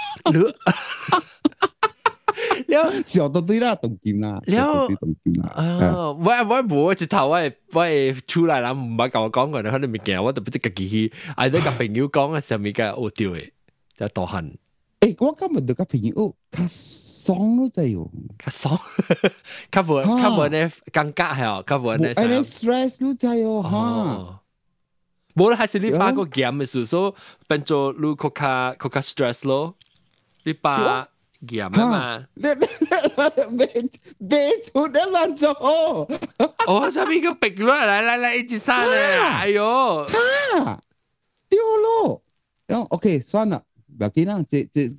了，小到對啦，動劍啦，了，動劍啦。啊， 我我冇一頭，我我出來啦，唔係教我講過，你可能未見，我就不知自己去，嗌啲個朋友講嘅上面嘅惡掉嘅，就大漢。 誒，我今日對個朋友，佢爽咯，真係， 佢爽，佢冇佢冇呢尷尬係哦，佢冇呢。 誒，你 stress 咯，真係哦，嚇。 冇啦，還是你把個 game 嘅時候變做你更加更加 stress 咯，你把 game 嘛。 你你你你做得亂做。 哦，上面個壁咯，來來來，一起上咧，哎呦， 嚇，丟咯，然後 OK 算了。不要緊啦，這這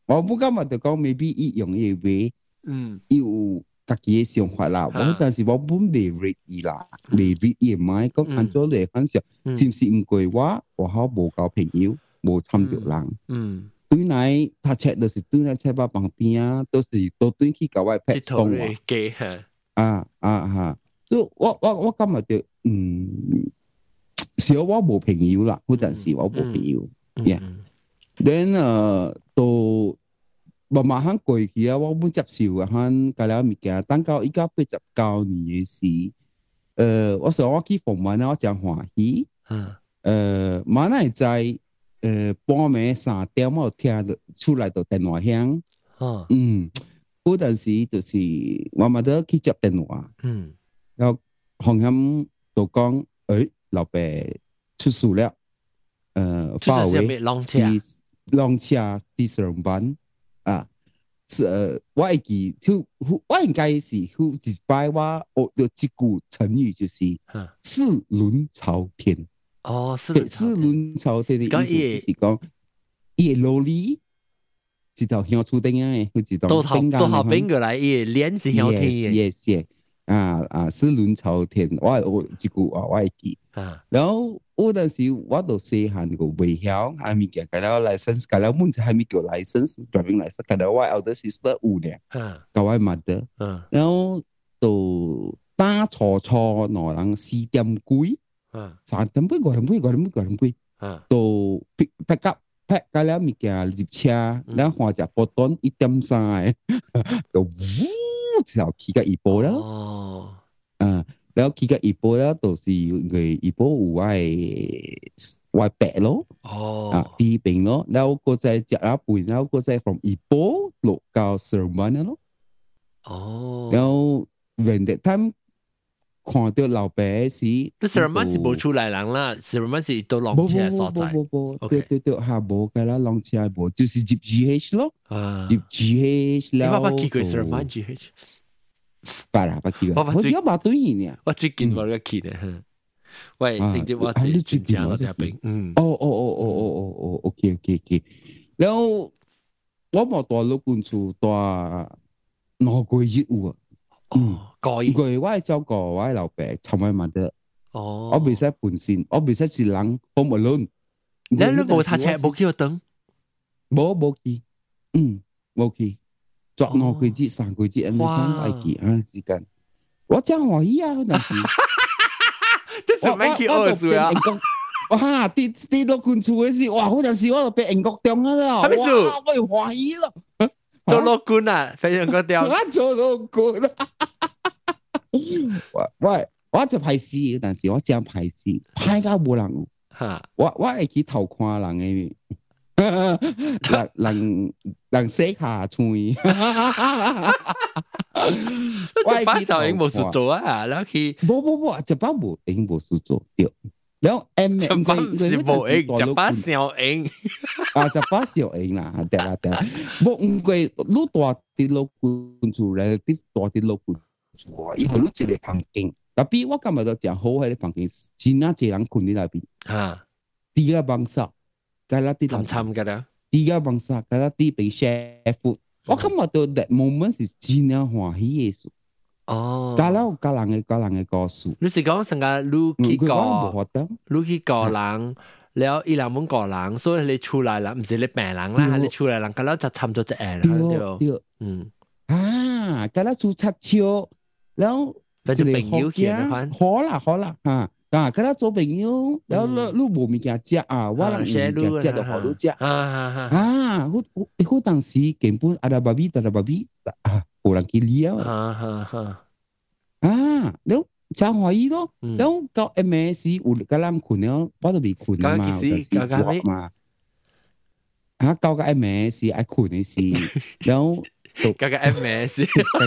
我不感覺就講 maybe 伊用伊話，嗯，伊有家己嘅想法啦。我但是我本未 read 伊啦，未 read 伊唔係講按照嚟分析，是唔是唔過我我好無交朋友，無參着人。嗯，對來他切就是對來切把旁邊啊，都是都對去搞外拍講話。啊啊哈！所以我我我感覺就嗯，是我無朋友啦，嗰陣時我無朋友。Yeah，then 誒到。慢慢行過去啊，我本接受啊，行介了物件，等到依家八十九年嘅時，呃，我想我去訪問啊，我真歡喜。嗯。呃，馬來在呃半暝三點我聽到出來到電話響。哦。嗯。嗰陣時就是我咪得去接電話。嗯。然後紅險就講，誒，老爸出事了。呃，包圍。浪車。浪車第上班。啊，是呃，我會記，我應該是有一擺我學到一句成語，就是“四輪朝天”。哦，四輪朝天的意思就是講，伊個蘿莉一條香厝頂啊，一條頂干。都好邊個來？伊個臉是香天嘅。Yes, yes, 啊啊，四輪朝天，我我一句話我會記。啊，然後。嗰陣時我都細漢個未曉，還未見，佢哋 license，佢哋門子還未叫 license，driving license，佢哋我 elder sister 有咧，教我 mother，然後到打錯錯，攞人四點幾，三點幾，五點幾，五點幾，五點幾，到 pick pick up pack，佢哋物件入車，然後換隻波頓一點三，就嗚就起個一波啦，啊。然後佢個一波咧，都是佢一波有我我白咯，啊地平咯，然後個再食一半，然後個再從一波落到上班咯。哦，然後 when that time 看到老爸時， 你上班是冇出來人啦，上班是到浪車所在。冇冇冇冇， 對對對，下冇㗎啦，浪車冇，就是入 G H 咯，入 G H แล้ว。 你爸爸去過上班 G H？ 巴拉巴基個，我只有把對應呢。 我最近我個去呢，喂，直接我最近講到呢邊。嗯。哦哦哦哦哦哦哦 ，OK OK OK。然後我冇大陸官處大兩個月有啊。嗯。個月。個月我係照顧我係老爸，尋晚問得。哦。我未使本身，我未使是人 home alone。 你你冇搭車冇去等？ 冇冇去，嗯，冇去。作兩個月、三個月，咁樣愛記啊時間。我真歡喜啊！嗰陣時， 我我我就變英國， 哇！跌跌到官厝嘅時，哇！嗰陣時我就變英國中啊啦，哇！我又歡喜咯， 做老官啊，變英國中， 我做老官啊！我我我就排事，嗰陣時我真排事，排到冇人。嚇！我我會去偷看人嘅。人人人寫下嘴， 我把小英冇事做啊，然後去冇冇冇，就把冇英冇事做掉，然後 M 就把是冇英，就把小英啊，就把小英啦，對啦對啦，冇唔貴，攞大啲老官做咧，啲大啲老官做，以後攞一個房間，特別我今日就正好喺啲房間，真係濟人困喺那邊，嚇，第一個幫手。Kalau tidak tham kada tiga bangsa kalau ti be share food 我感覺到 that moment 是真係歡喜嘅事哦kalau kalau人嘅個人嘅故事你是講成個你去個你去個人แล้ว伊兩門個人所以你出來啦唔是你病人啦係你出來人kalau就參咗隻誒啦對嗯啊kalau 出七超แล้ว就朋友嘅好啦好啦嚇啊！佢哋做朋友，然後你你冇物件食啊，我人有物件食就好你食。啊啊啊！好好好，當時根本阿達巴比，阿達巴比啊，冇人去理啊。啊啊啊！然後真歡喜咯。然後到 M S 有個人困了，我都未困啊嘛，就是work嘛。啊，到個 M S 愛困嘅時，然後到個 M S。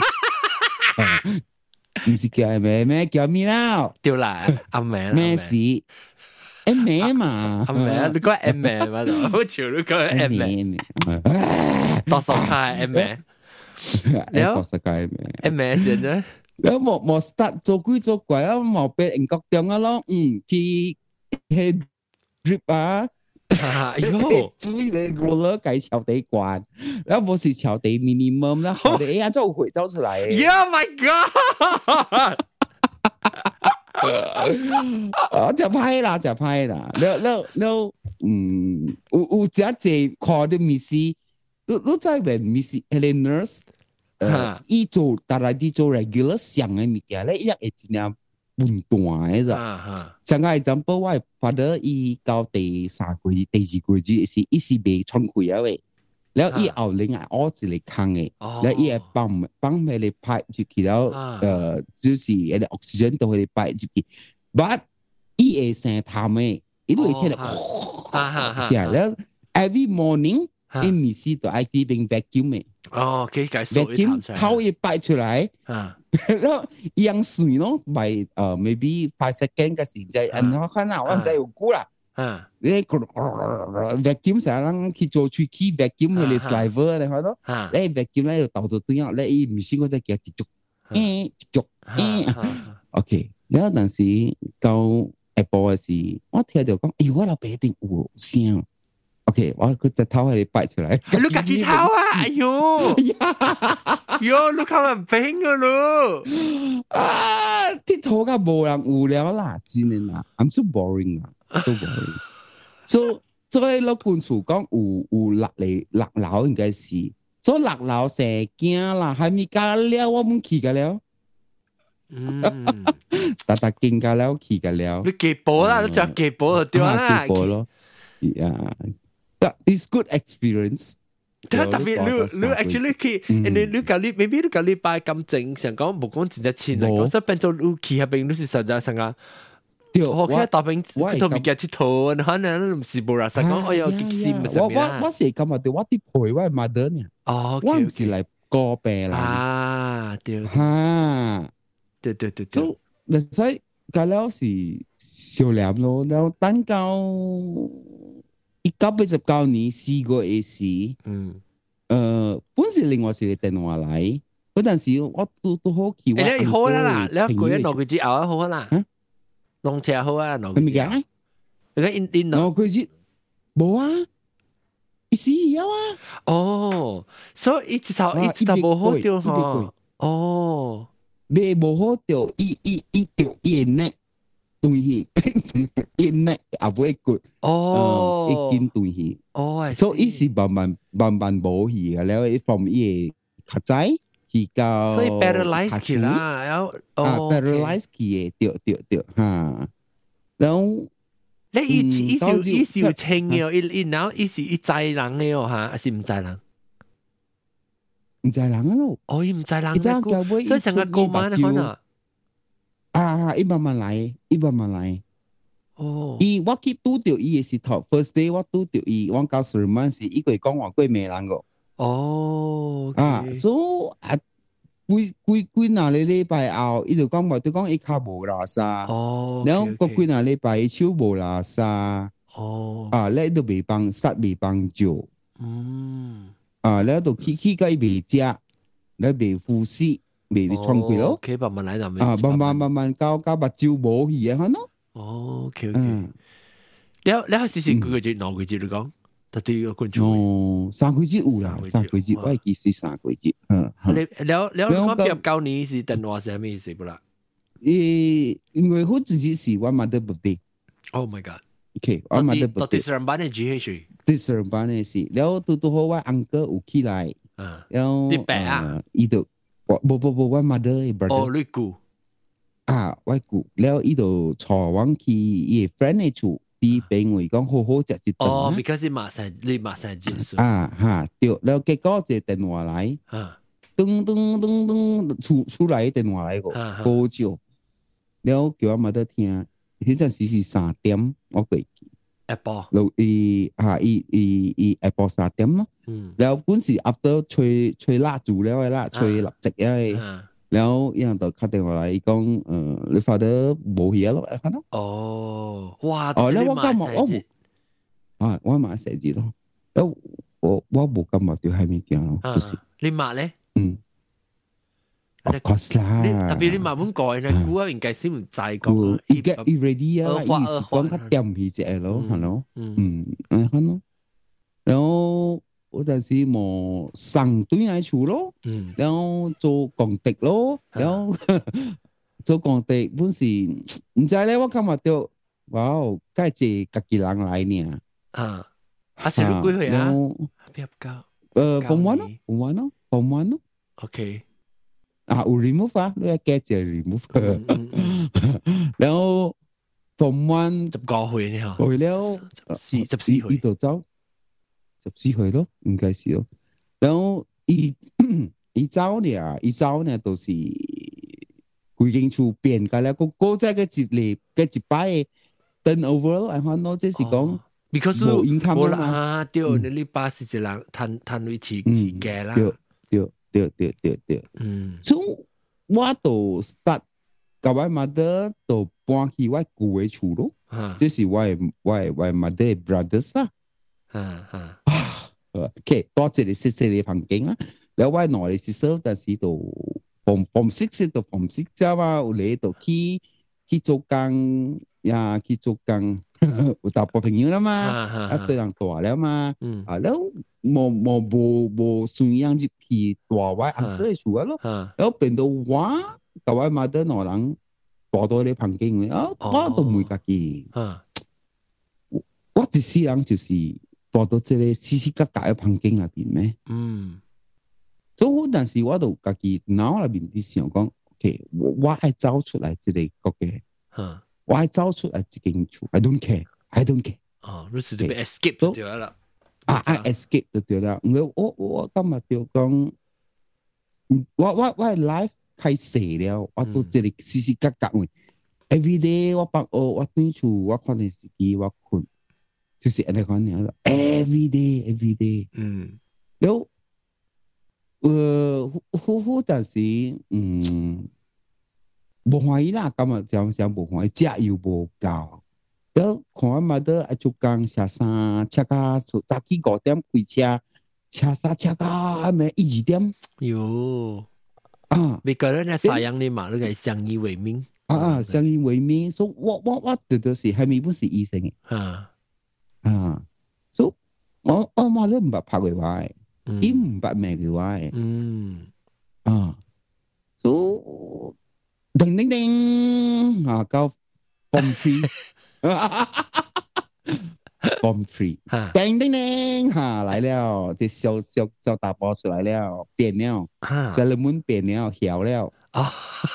唔是叫阿妹咩？叫咩啦？ 對啦，阿妹咩事？阿妹嘛， 阿妹，你講阿妹嘛？好潮，你講阿妹，多數係阿妹， 多數係阿妹， 阿妹先啫。 然後冇冇 start 做鬼做怪啊！冇俾英國中啊咯，嗯，去去 drip 啊， 哎呦， 注意你 roller 計橋底關，然後冇是橋底 minimum 啦，橋底哎呀就會走出來。 Yeah my god！ 哦，就歹啦，就歹啦。แล้วแล้วแล้ว嗯，有有只隻看到 Missy， 你你知唔知 Missy 係個 nurse？ 呃，伊做大來啲做 regular 上嘅物件咧，伊會真正分段嘅咋。像個 example， 我 father 伊到第三個月、第二個月是伊是未喘氣啊喂，然後伊後另外屙一個坑嘅，然後伊會泵泵迄個 pipe 入去，然後呃就是迄個 oxygen 到迄個 pipe 入去 ，but 伊會生痰嘅，伊會迄個聲，然後 every morning 伊咪是都愛啲邊 vacuum 嘅。 哦，可以解釋 vacuum 頭一擺出來，然後樣水咯，咪呃 maybe five second 嘅時間，然後看下我唔知有估啦，你 vacuum 成日去做吹氣 vacuum 佢哋 saliva 你睇咯，你 vacuum 咧就倒到對樣，你唔先嗰隻叫接觸，誒接觸，OK， 然後當時到下晡嘅時，我聽到講，咦我老爸一定有聲。OK， 我佢隻頭係擺出來， 你自己頭啊！哎呦，喲，你頭係冰噶咯！ 啊，啲頭嘅冇人無聊啦，真係啦 ，I'm so boring 啊 ，so boring。所所以老官處講有有落嚟落樓應該是，所以落樓成驚啦，係咪加了我們去㗎了？嗯，大大驚㗎了，去㗎了。 你幾波啦？你就幾波就對啦， 幾波咯，呀。It's good experience。 特別你你 actually 去，and then 你隔離 maybe 你隔離拜咁正，想講冇講真正錢嚟講，所以變做你去嗰邊你是實在上啊，我喺大邊嗰度物件佚佗，可能唔是冇啦，實講我有激心嘅上面啦。 我我是咁啊，對我啲陪我係 mother 呢，我唔是嚟過病啦。啊，對，嚇， 對對對對。所以隔離是少量咯，然後等到。一九八十九年試過一次，嗯，誒，本時另外是你電話嚟，嗰陣時我都都好奇怪。你好啦，你一個人攞佢支牛好啦，弄車好啊，攞佢支牛。你講印印攞佢支冇啊，一時有啊。 哦，所以一直頭一直頭冇好掉嗬。哦， 你冇好掉，一一一掉一呢。對去，因呢也唔會good，哦，一見對去，哦，所以是慢慢慢慢冇去嘅，然後一from伊個較早去到， 所以 paralyze 去啦，然後啊 paralyze 去嘅，對對對，嚇，然後你以前以前以前清嘅，一然後以前一知人嘅哦嚇，還是唔知人？ 唔知人咯， 哦，伊唔知人嘅，所以成個過晚啊，可能。 啊！伊慢慢來，伊慢慢來。哦，伊我去拄着伊嘅時頭 ，first day 我拄着伊，我到十萬時，伊佢講話過美人個。哦，啊，所以啊，幾幾幾哪個禮拜後，伊就講話，就講伊腳無拉沙。哦，然後個幾哪禮拜伊手無拉沙。哦，啊，咧都未幫，實未幫助。嗯，啊，咧就去去個伊未食，咧未呼吸。未未創佢咯 ，OK， 慢慢來就啊，慢慢慢慢教教目睭冇去啊，可能。 哦 ，OK OK，你你係試試幾個月、兩個月你講，特啲個觀眾。 哦，三個月有啦，三個月，我係記是三個月。嗯， 你你你我畢業九年是電話係咩意思不啦？ 誒，因為我自己是我 mother birthday。 Oh my god！OK， 我 mother birthday。 到第三班嘅 G H。 第三班嘅是，然後到到好我 uncle 有起來，然後啲白啊， 伊就。我不不不，我 mother brother。 哦，你姑啊，我姑，然後伊就坐往去伊 friend 嘅厝，啲病為講好好食一頓。 哦 ，because 你馬上你馬上結束。 啊哈，對，然後結果就電話來，噔噔噔噔出出來電話來個，好久，然後叫我 mother 聽，嗰陣時是三點，我過去。 Apple， 然後伊嚇伊伊伊 Apple 三點咯，然後本時 after 吹吹蠟燭了啦，吹蠟燭嘅，然後伊人就打電話來，伊講誒你發得冇嘢咯，可能。 哦，哇！ 哦，你我感覺我冇，啊，我買寫字咯，我我我冇感覺到係咩嘢咯，就是。 你買咧？ 嗯。 Of course 啦， 特別你慢慢講嘅股啊，應該是唔知講。 而家 ready 啊，意思講較掂起隻咯，係咯，嗯，係咯。然後嗰陣時冇上隊嚟處咯，然後做工地咯，然後做工地本時唔知咧，我今日就哇，介謝家己人來呢。啊，啊，成咗幾歲啊？比較高。誒，form one 咯，form one 咯，form one 咯。OK。啊，有 remove 啊，你要加隻 remove。然後 form one 十九歲呢嚇， 去了十十四歲， 呢度走十四歲咯，應該是咯。然後伊伊走呢，伊走呢都是規間厝變㗎啦，個個在個一禮個一擺嘅 turnover，然後喏，即是講冇 income 啊，對，你你巴是一人攤攤位起起價啦， 對對。對對對對，嗯，所以我都 start 甲我 mother 都搬去我舊嘅厝咯，這是我我我 mother brothers 啦，啊啊，OK， 多一個細細嘅房間啊，然後我內嘅 sister 但是都 from from six 到 from six 啫嘛，有嚟到去去做工呀，去做工，有大波朋友啦嘛，啊，對人大了嘛，啊，然後。冇冇冇冇算樣入去大位行得住咯，然後變到我大位買得內人大多啲房間嘅，啊我都唔會家己，我一世人就是大到這個死死格格嘅房間入邊咩？嗯，所以但是我都家己腦入邊啲想講 ，OK， 我我係走出來這個國嘅，我係走出來這間厝 ，I don't care，I don't care， 哦，你是特別 escape 就對啦。 啊 ！I escape 就對啦。我我我今日就講，我我我 life 開始了，我都這裡時時刻刻嘅。Every day 我幫我我對住我看電視機，我困，就是安尼講樣。Every day, every day。嗯。然後，誒，好好但是，嗯，無歡喜啦。今日講講無歡喜，食又無夠。然看我媽的做工車衫，車到早起五點開車，車衫車到咩一二點。喲啊！ 每個人嘅啥樣的嘛，那個相依為命。啊啊，相依為命。所以我我我對對是係咪不是醫生嘅？啊啊！所以我我媽都唔捌拍過我嘅，伊唔捌罵過我嘅。嗯啊，所以叮叮叮啊，到 form three。Bomb tree， 叮叮叮，哈來了，這小小小大波出來了，變了，小人們變了，曉了，啊，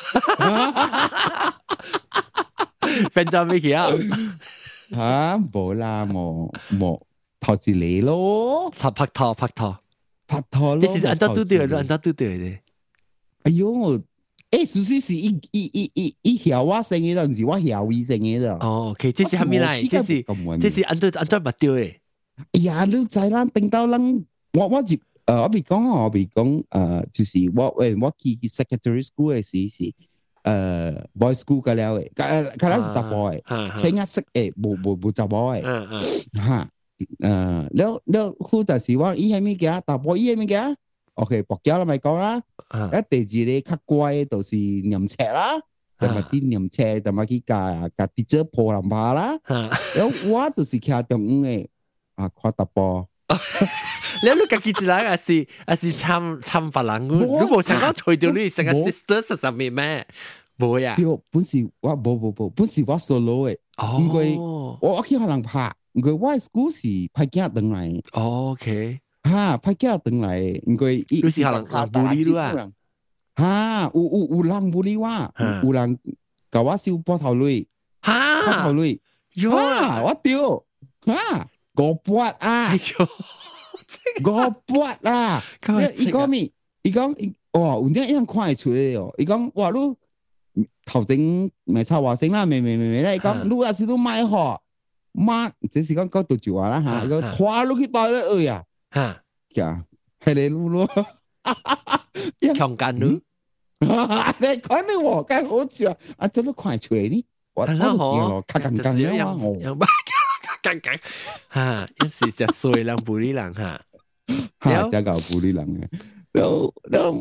變咗咩嘢啊？冇啦，冇冇頭子嚟咯， 拍拍拖拍拖拍拖咯， 你是按照對對的，按照對對的。 哎呦！誒，事實是伊伊伊伊伊曉我生嘅，唔是我曉伊生嘅啫。 哦 ，OK，這是係咩嚟？這是這是按對按對目對嘅。 哎呀，你知啦，等到人我我接誒，我未講我未講誒，就是我誒我去 secondary school 嘅時是誒 boy school 嘅了嘅，誒，佢係是大 boy，青一色誒，無無無雜 boy，嗯嗯，嚇誒，แล้วแล้วคู่但是我伊係咩嘅？大 boy 伊係咩嘅？OK， 博繳啦咪講啦，一第二咧較乖，就是念冊啦，同埋啲念冊，同埋去教教啲姐破林巴啦。然後我就是徛中午嘅，啊看大波。 你你家己一人還是還是參參別人？你無想講除掉你成個 sister 實實咩咩？冇呀。 對，本是我冇冇冇，本是我 solo 嘅，因為我我去可能拍，因為我 school 是派囝轉來。 OK。 哈，派囝轉來，因為你是人人bully你啊？ 哈，有有有人bully我，有人甲我收波頭鐳， 哈， 波頭鐳，哈，我丟，哈，五撥啊， 哎呦， 五撥啊，伊講咩？伊講，哦，有啲人看會出來哦。伊講，哇，你頭前咪插話聲啦，咪咪咪咪咧，伊講，你也是都買貨，買，這是講講到住話啦嚇，伊講拖落去袋咧，哎呀！哈，呀，係你嚕咯， 強姦嚕， 你講你我梗好笑，啊，真都快出嚟呢，我我都見咯，卡緊緊嘅嘛，我卡緊緊，嚇，一時就衰人bully人嚇， 嚇，真夠bully人嘅，都都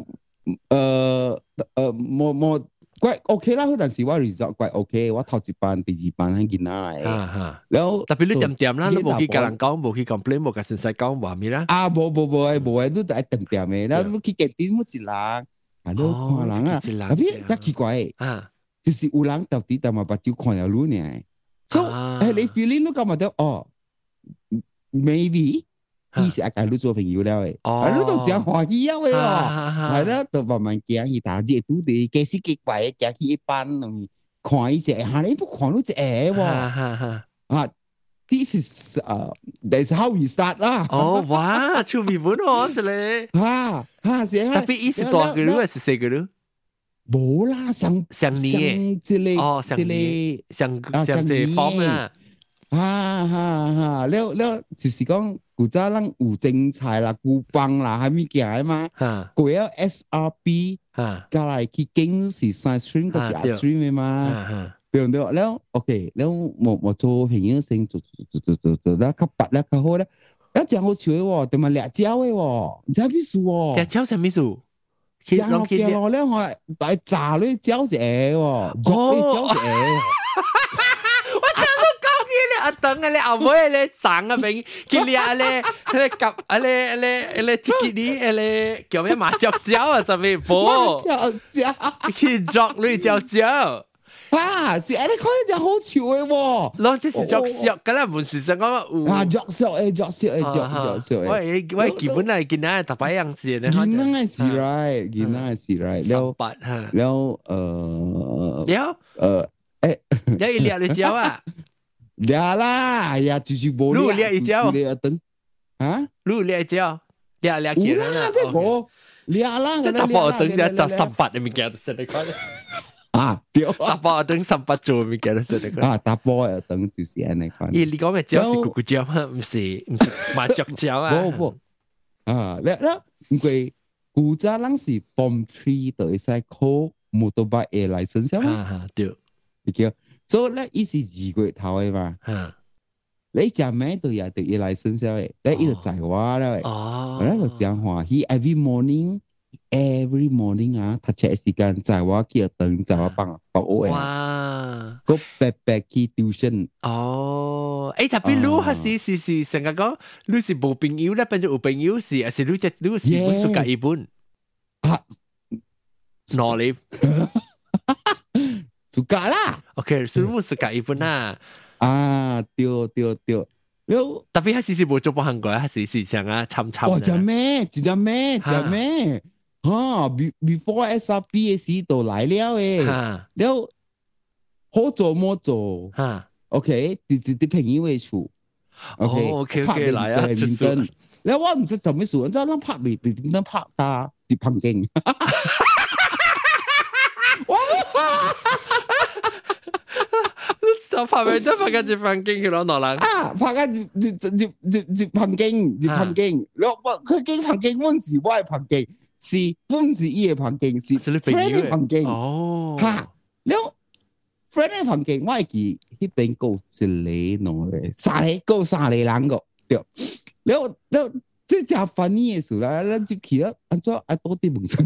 呃呃，冇冇怪 OK 啦，但是我 result 怪 OK，我頭一班、第二班喺見下嚟。 哈哈， 然後特別你點點啦，你冇去甲人講，冇去 complain，冇甲先生講話咩啦？ 啊，冇冇冇誒，冇誒，都係點點誒，然後你去見店冇是人，啊，你看人啊，特別真奇怪誒，就是有人到底但係把酒看了路呢，所以誒，你 feeling 都感覺到哦 ，maybe。伊是阿甲你做朋友了誒，啊，你都真歡喜啊喂哦，係啦，都慢慢行去打字，拄地幾時幾怪行去一班，看伊只，嚇你不看到只誒喎，啊 ，this is 啊 ，that's how we start 啦。 哦，哇，超美滿哦，是咧， 嚇嚇是啊， 特別伊是大個女還是細個女？ 冇啦，上上年嘅， 哦，上年上上這方啊， 嚇嚇嚇，了了就是講。古早人有精彩啦、古棒啦，係咪嘅嘛？佢有 S R B， 加嚟去經是 science stream， 嗰是 art stream 嘅嘛？對唔對？แล้วโอเคแล้ว我我做朋友先做做做做做แล้ว較白แล้ว較好咧，一隻好笑嘅喎，同埋辣椒嘅喎，唔知咩事喎？辣椒係咩事？ 然後然後咧，我係炸呢椒隻喎，做呢椒隻。阿等啊咧，後尾咧省啊邊，佢哋啊咧，咧夾啊咧咧咧自己啲啊咧叫咩麻雀椒啊，上面播麻雀椒，佢作呢椒椒啊，是啊，你看呢隻好笑嘅喎， 咯，即係作笑㗎啦，唔是成講啊作笑誒，作笑誒，作作笑誒， 喂喂，基本係見啊，特別樣子咧， 見啊是 right，見啊是 right，แล้วแล้วเอ่อแล้วเอ่อ誒， แล้วอีเลียเลย椒啊。 呀啦，呀就是冇你掠一招， 掠燈啊， 你掠一招，掠掠幾人啊？ 這個掠啦， 這打包燈就十三八的物件，真係講啊，對， 打包燈三八做物件，真係講啊，打包嘅燈就是安尼講。 咦，你講嘅椒是咕咕椒嗎？唔是，唔是麻雀椒啊。 冇冇啊，咧咧，唔過古早人是 Form Three 就會使考 motorbike 嘅 license 嘛。 啊對。 叫，所以咧，伊是二個月頭嘅嘛。你食咩都也得要來生肖嘅，你伊就載我啦嘅。哦，咧就真歡喜 ，every morning，every morning 啊，讀冊時間載我去等，載我幫幫我嘅。哇！個白白去 tuition。 哦，誒，特別你係是是是成日講，你是冇朋友咧，變咗有朋友是，還是你只你是本書教一本？啊，哪裡？ suka lah. Okay, semua suka even lah. Ah, tio tio tio. Yo, tapi 他其實冇做過韓國，他是是想啊參參。 哦，真咩？真咩？真咩？哈 ，before S R B 嘅時都來了誒。哈，แล้ว好做冇做？哈 ，OK，啲啲啲朋友嘅處。 OK OK OK，來啊，出數。 แล้ว我唔知做咩事，你知道拍未未點樣拍㗎？啲碰鏡。 拍咩都拍緊接碰鏡，佢攞落嚟啊！拍緊接接接接接碰鏡，接碰鏡。我佢經碰鏡嗰陣時，我係碰鏡，是嗰陣時伊係碰鏡，是 friend 嘅碰鏡。哦，嚇！แล้ว friend 嘅碰鏡，我係記迄邊夠一個喏咧，三個夠三個人個，對。แล้วแล้ว即係翻譯嘅時候啦，咱就去咗安怎啊多啲夢想。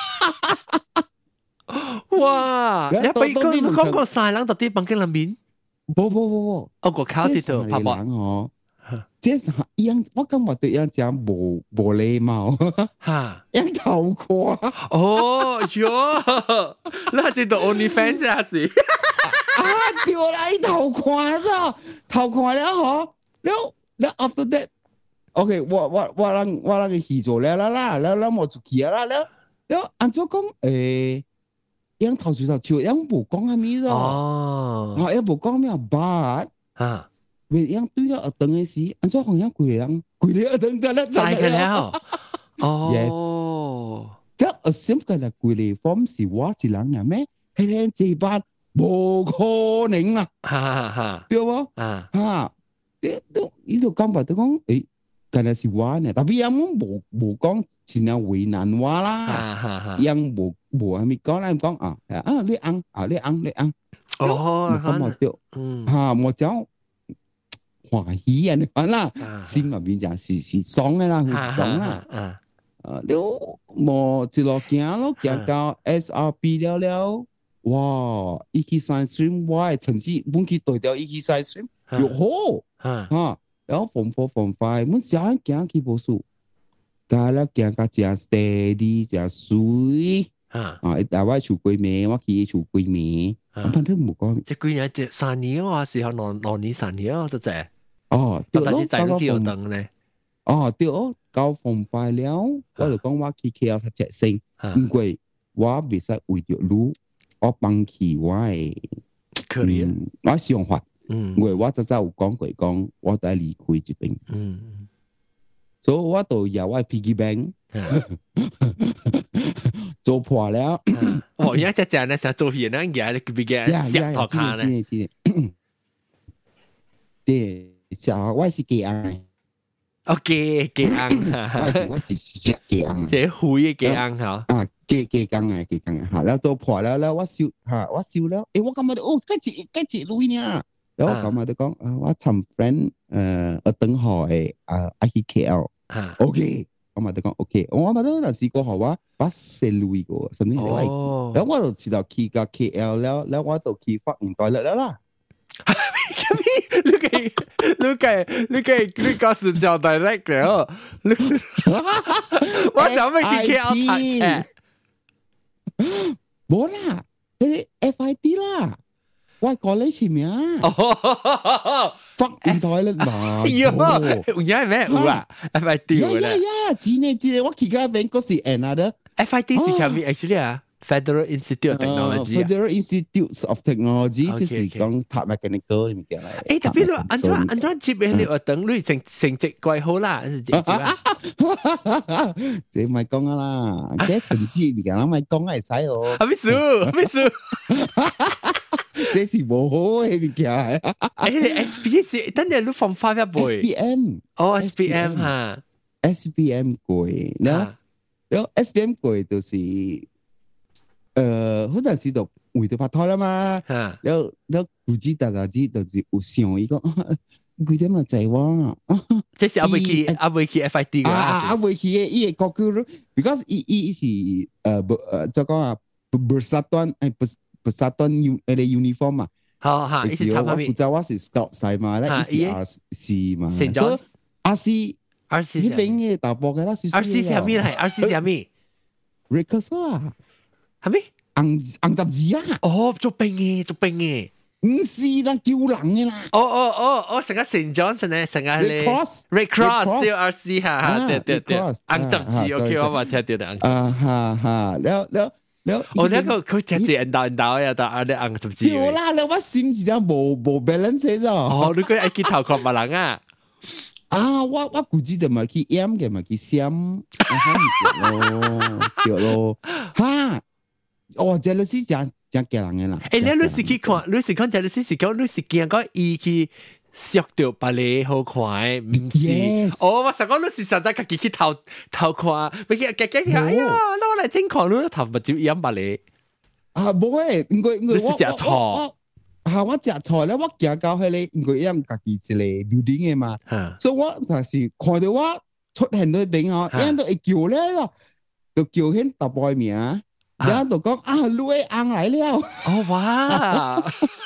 哇！你俾講講個三個人到啲碰鏡裏面。 冇冇冇冇， 我個考啲度拍拍哦，即係樣我感覺對樣講冇冇禮貌，嚇，樣頭誇， 哦喲，你係知道 OnlyFans 啊是？ 啊，掉嚟頭誇咗，頭誇了嗬，แล้วแล้ว after that，OK， 我我我讓我讓佢去做了啦啦，แล้วแล้ว我就去啦，แล้วแล้ว按照講誒。樣頭住頭笑，樣冇講係咩咗？哦，啊，樣冇講咩，but 啊，為樣對咗一等嘅事，安怎講樣攰人，攰你一等得啦， 就係了。哦 ，yes，即係 assume 嘅係攰你 form 是我是人呀咩？係聽這班冇可能啦，哈哈，對冇？啊，嚇，你都呢度講白都講，誒。可能是我呢，但係有冇冇冇講前有為難我啦，有冇冇係咪講啦？講啊啊你啱啊你啱你啱，哦咁我就嚇我就歡喜啊你講啦，心入邊就是是爽嘅啦，爽啦， 啊，了冇一路行咯，行到 S R B 了了，哇！一去 science stream， 我嘅成績本去對掉一去 science stream， 又好，嚇，然後 form four form five， 我想行去無數，加了行到正 steady 正水，啊，但我厝幾暝，我去厝幾暝，我反正冇講， 即幾年即三年啊，時候兩兩年三年啊，就係， 哦， 對咯，但係幾有等咧。 哦，對哦，到phòng bài了，我就講我去 K L 讀冊先，唔過我未使為着路，我放棄我嘅，嗯，我想法，嗯，因為我早早有講過講，我都要離開這邊，嗯，所以我就由我 piggy bank 做破了， 哦，而家只只咧想做嘢咧，而家你俾嘅石頭卡咧， 對，小我是幾安。 哦，雞雞昂， 我只是隻雞昂， 即係灰嘅雞昂嚇。 啊，雞雞昂啊，雞昂啊，嚇！แล้วตัว破แล้วแล้วว่าซิว嚇ว่าซิวแล้วเอ้ว่า咁มาโอ้ใกล้จิใกล้จิลุยเนี่ยแล้ว咁มา都講啊ว่าทำ friend เอ่อở等海啊啊去 K L โอเค咁มา都講 OK 我มา都那時過後ว่าว่าเซลุย過甚至係แล้ว我就知道去到 K L แล้วแล้วว่า就去發現代率แล้วล่ะ你給你給你給你講是叫 direct 嘅，我想要去 K L 讀冊， 冇啦，你 F I T 啦，我講你前面啊，發現代率嘛， 喲，有嘢咩有啊 ？F I T 有啦呀，真嘅真嘅，我而家邊嗰時 another F I T 是叫咩 actually 啊？Federal Institute of Technology， Federal Institute of Technology 即係講讀 mechanical 咁嘅啦。 誒，特別咯，安怎安怎接嘅你學等你成成績怪好啦，這唔係講啊啦，啲成績唔係啦，咪講係使哦。 係咪數？係咪數？ 這是冇好嘅物件。 誒，你 S P S 等陣你放翻一倍。 S P M， 哦 ，S P M 嚇 ，S P M 貴，然後然後 S P M 貴就是誒，好多時就為咗拍拖啦嘛。然後然後估計大家知就是有想伊講，幾點咪就話， 這是阿未去阿未去 F I T 嘅啊，阿未去嘅伊個個咯 ，because 伊伊是誒誒，就講啊 bersatuan 誒 bersatuan 誒嘅 uniform 嘛。 好嚇，伊是參加咩？ 我知我是 scout 賽嘛，咧伊是 R C 嘛， 所以 R C R C 呢邊嘅大波嘅啦，R C 係咩嚟 ？R C 係咩 ？Recurso 啊， 係咩？ 紅紅十字啊！ 哦，做兵嘅，做兵嘅， 唔是啦，叫人嘅啦。 哦哦哦哦，成個 Saint Johnson 咧，成個咧 Red Cross 叫 R C 嚇，對對對，紅十字 OK，我冇聽到的。 啊哈哈，了了了， 哦，那個佢直接引導引導呀，到啊啲紅十字。 對啦，了我心字啊冇冇 balance 咗。 哦，你個愛去頭殼別人啊？ 啊，我我估計就咪去 M 嘅，咪去 Sam， 啊咯，對咯，哈，哦，這個是真真驚人嘅啦。 誒，你你是去看，你是看這個是是講，你是見過伊去削掉別個好看，唔是？哦，我想講你是實在自己去頭頭看，咪見見見，哎呀，那我來聽看，你頭目睭染別個。 啊，冇誒，因為因為我我錯。 嚇！我食菜咧，我行到迄個，因為因家己一個 building 嘅嘛，所以我就是看到我出現喺邊啊，人都會叫咧咯，就叫起大波嘅名，然後就講啊，你嘅翁來了。 哦哇！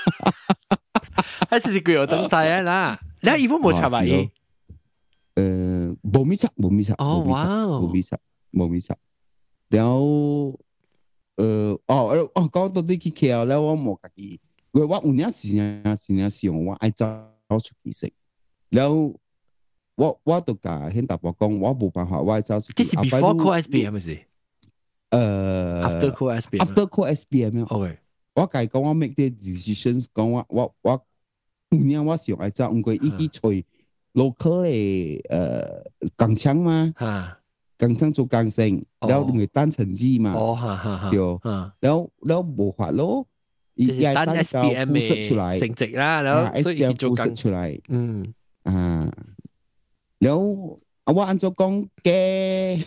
還是是佢有登載啊啦，你伊冇冇插埋伊？ 誒，冇咪插，冇咪插， 哦哇， 冇咪插，冇咪插。然後誒，哦哦，講到啲去 K L 咧，我冇家己。我我有陣時啊時啊想我愛走出去食，然後我我都甲迄大伯講，我冇辦法，我愛走出去。 這是 before call S B M 係咪？ 誒 ，after call S B M。after call S B M。 OK。 我甲伊講，我 make 啲 decisions， 講我我我有陣我想愛走，唔過伊去找 local 嘅誒工廠嘛，工廠做工程，然後因為單成績嘛， 哦哈哈哈， 對，然後然後冇法咯。 就是單 S B M 嘅成績啦，然後所以做緊出嚟， 嗯啊，然後我按照講嘅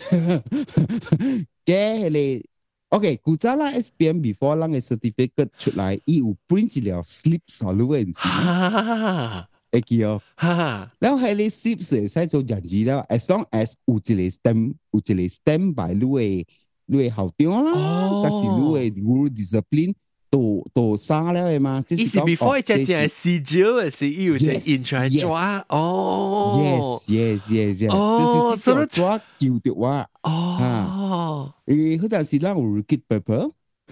嘅你 ，OK， 古早啦 S B M before 啷個 certificate 出嚟，伊有 print 了 slip 上路嘅唔是？ 會記哦。 哈， 然後喺你 sleep 時使做人字了 ，as long as 有一個 stand 有一個 stand by 你嘅你嘅校長啦，但是你嘅 guru discipline 都都殺了嘅嘛。 意思 before 一隻隻係試招嘅時，要隻 intro 抓哦。 Yes yes yes yes，就是即個抓叫的話。哦。誒，嗰陣時咧，我 repeat paper。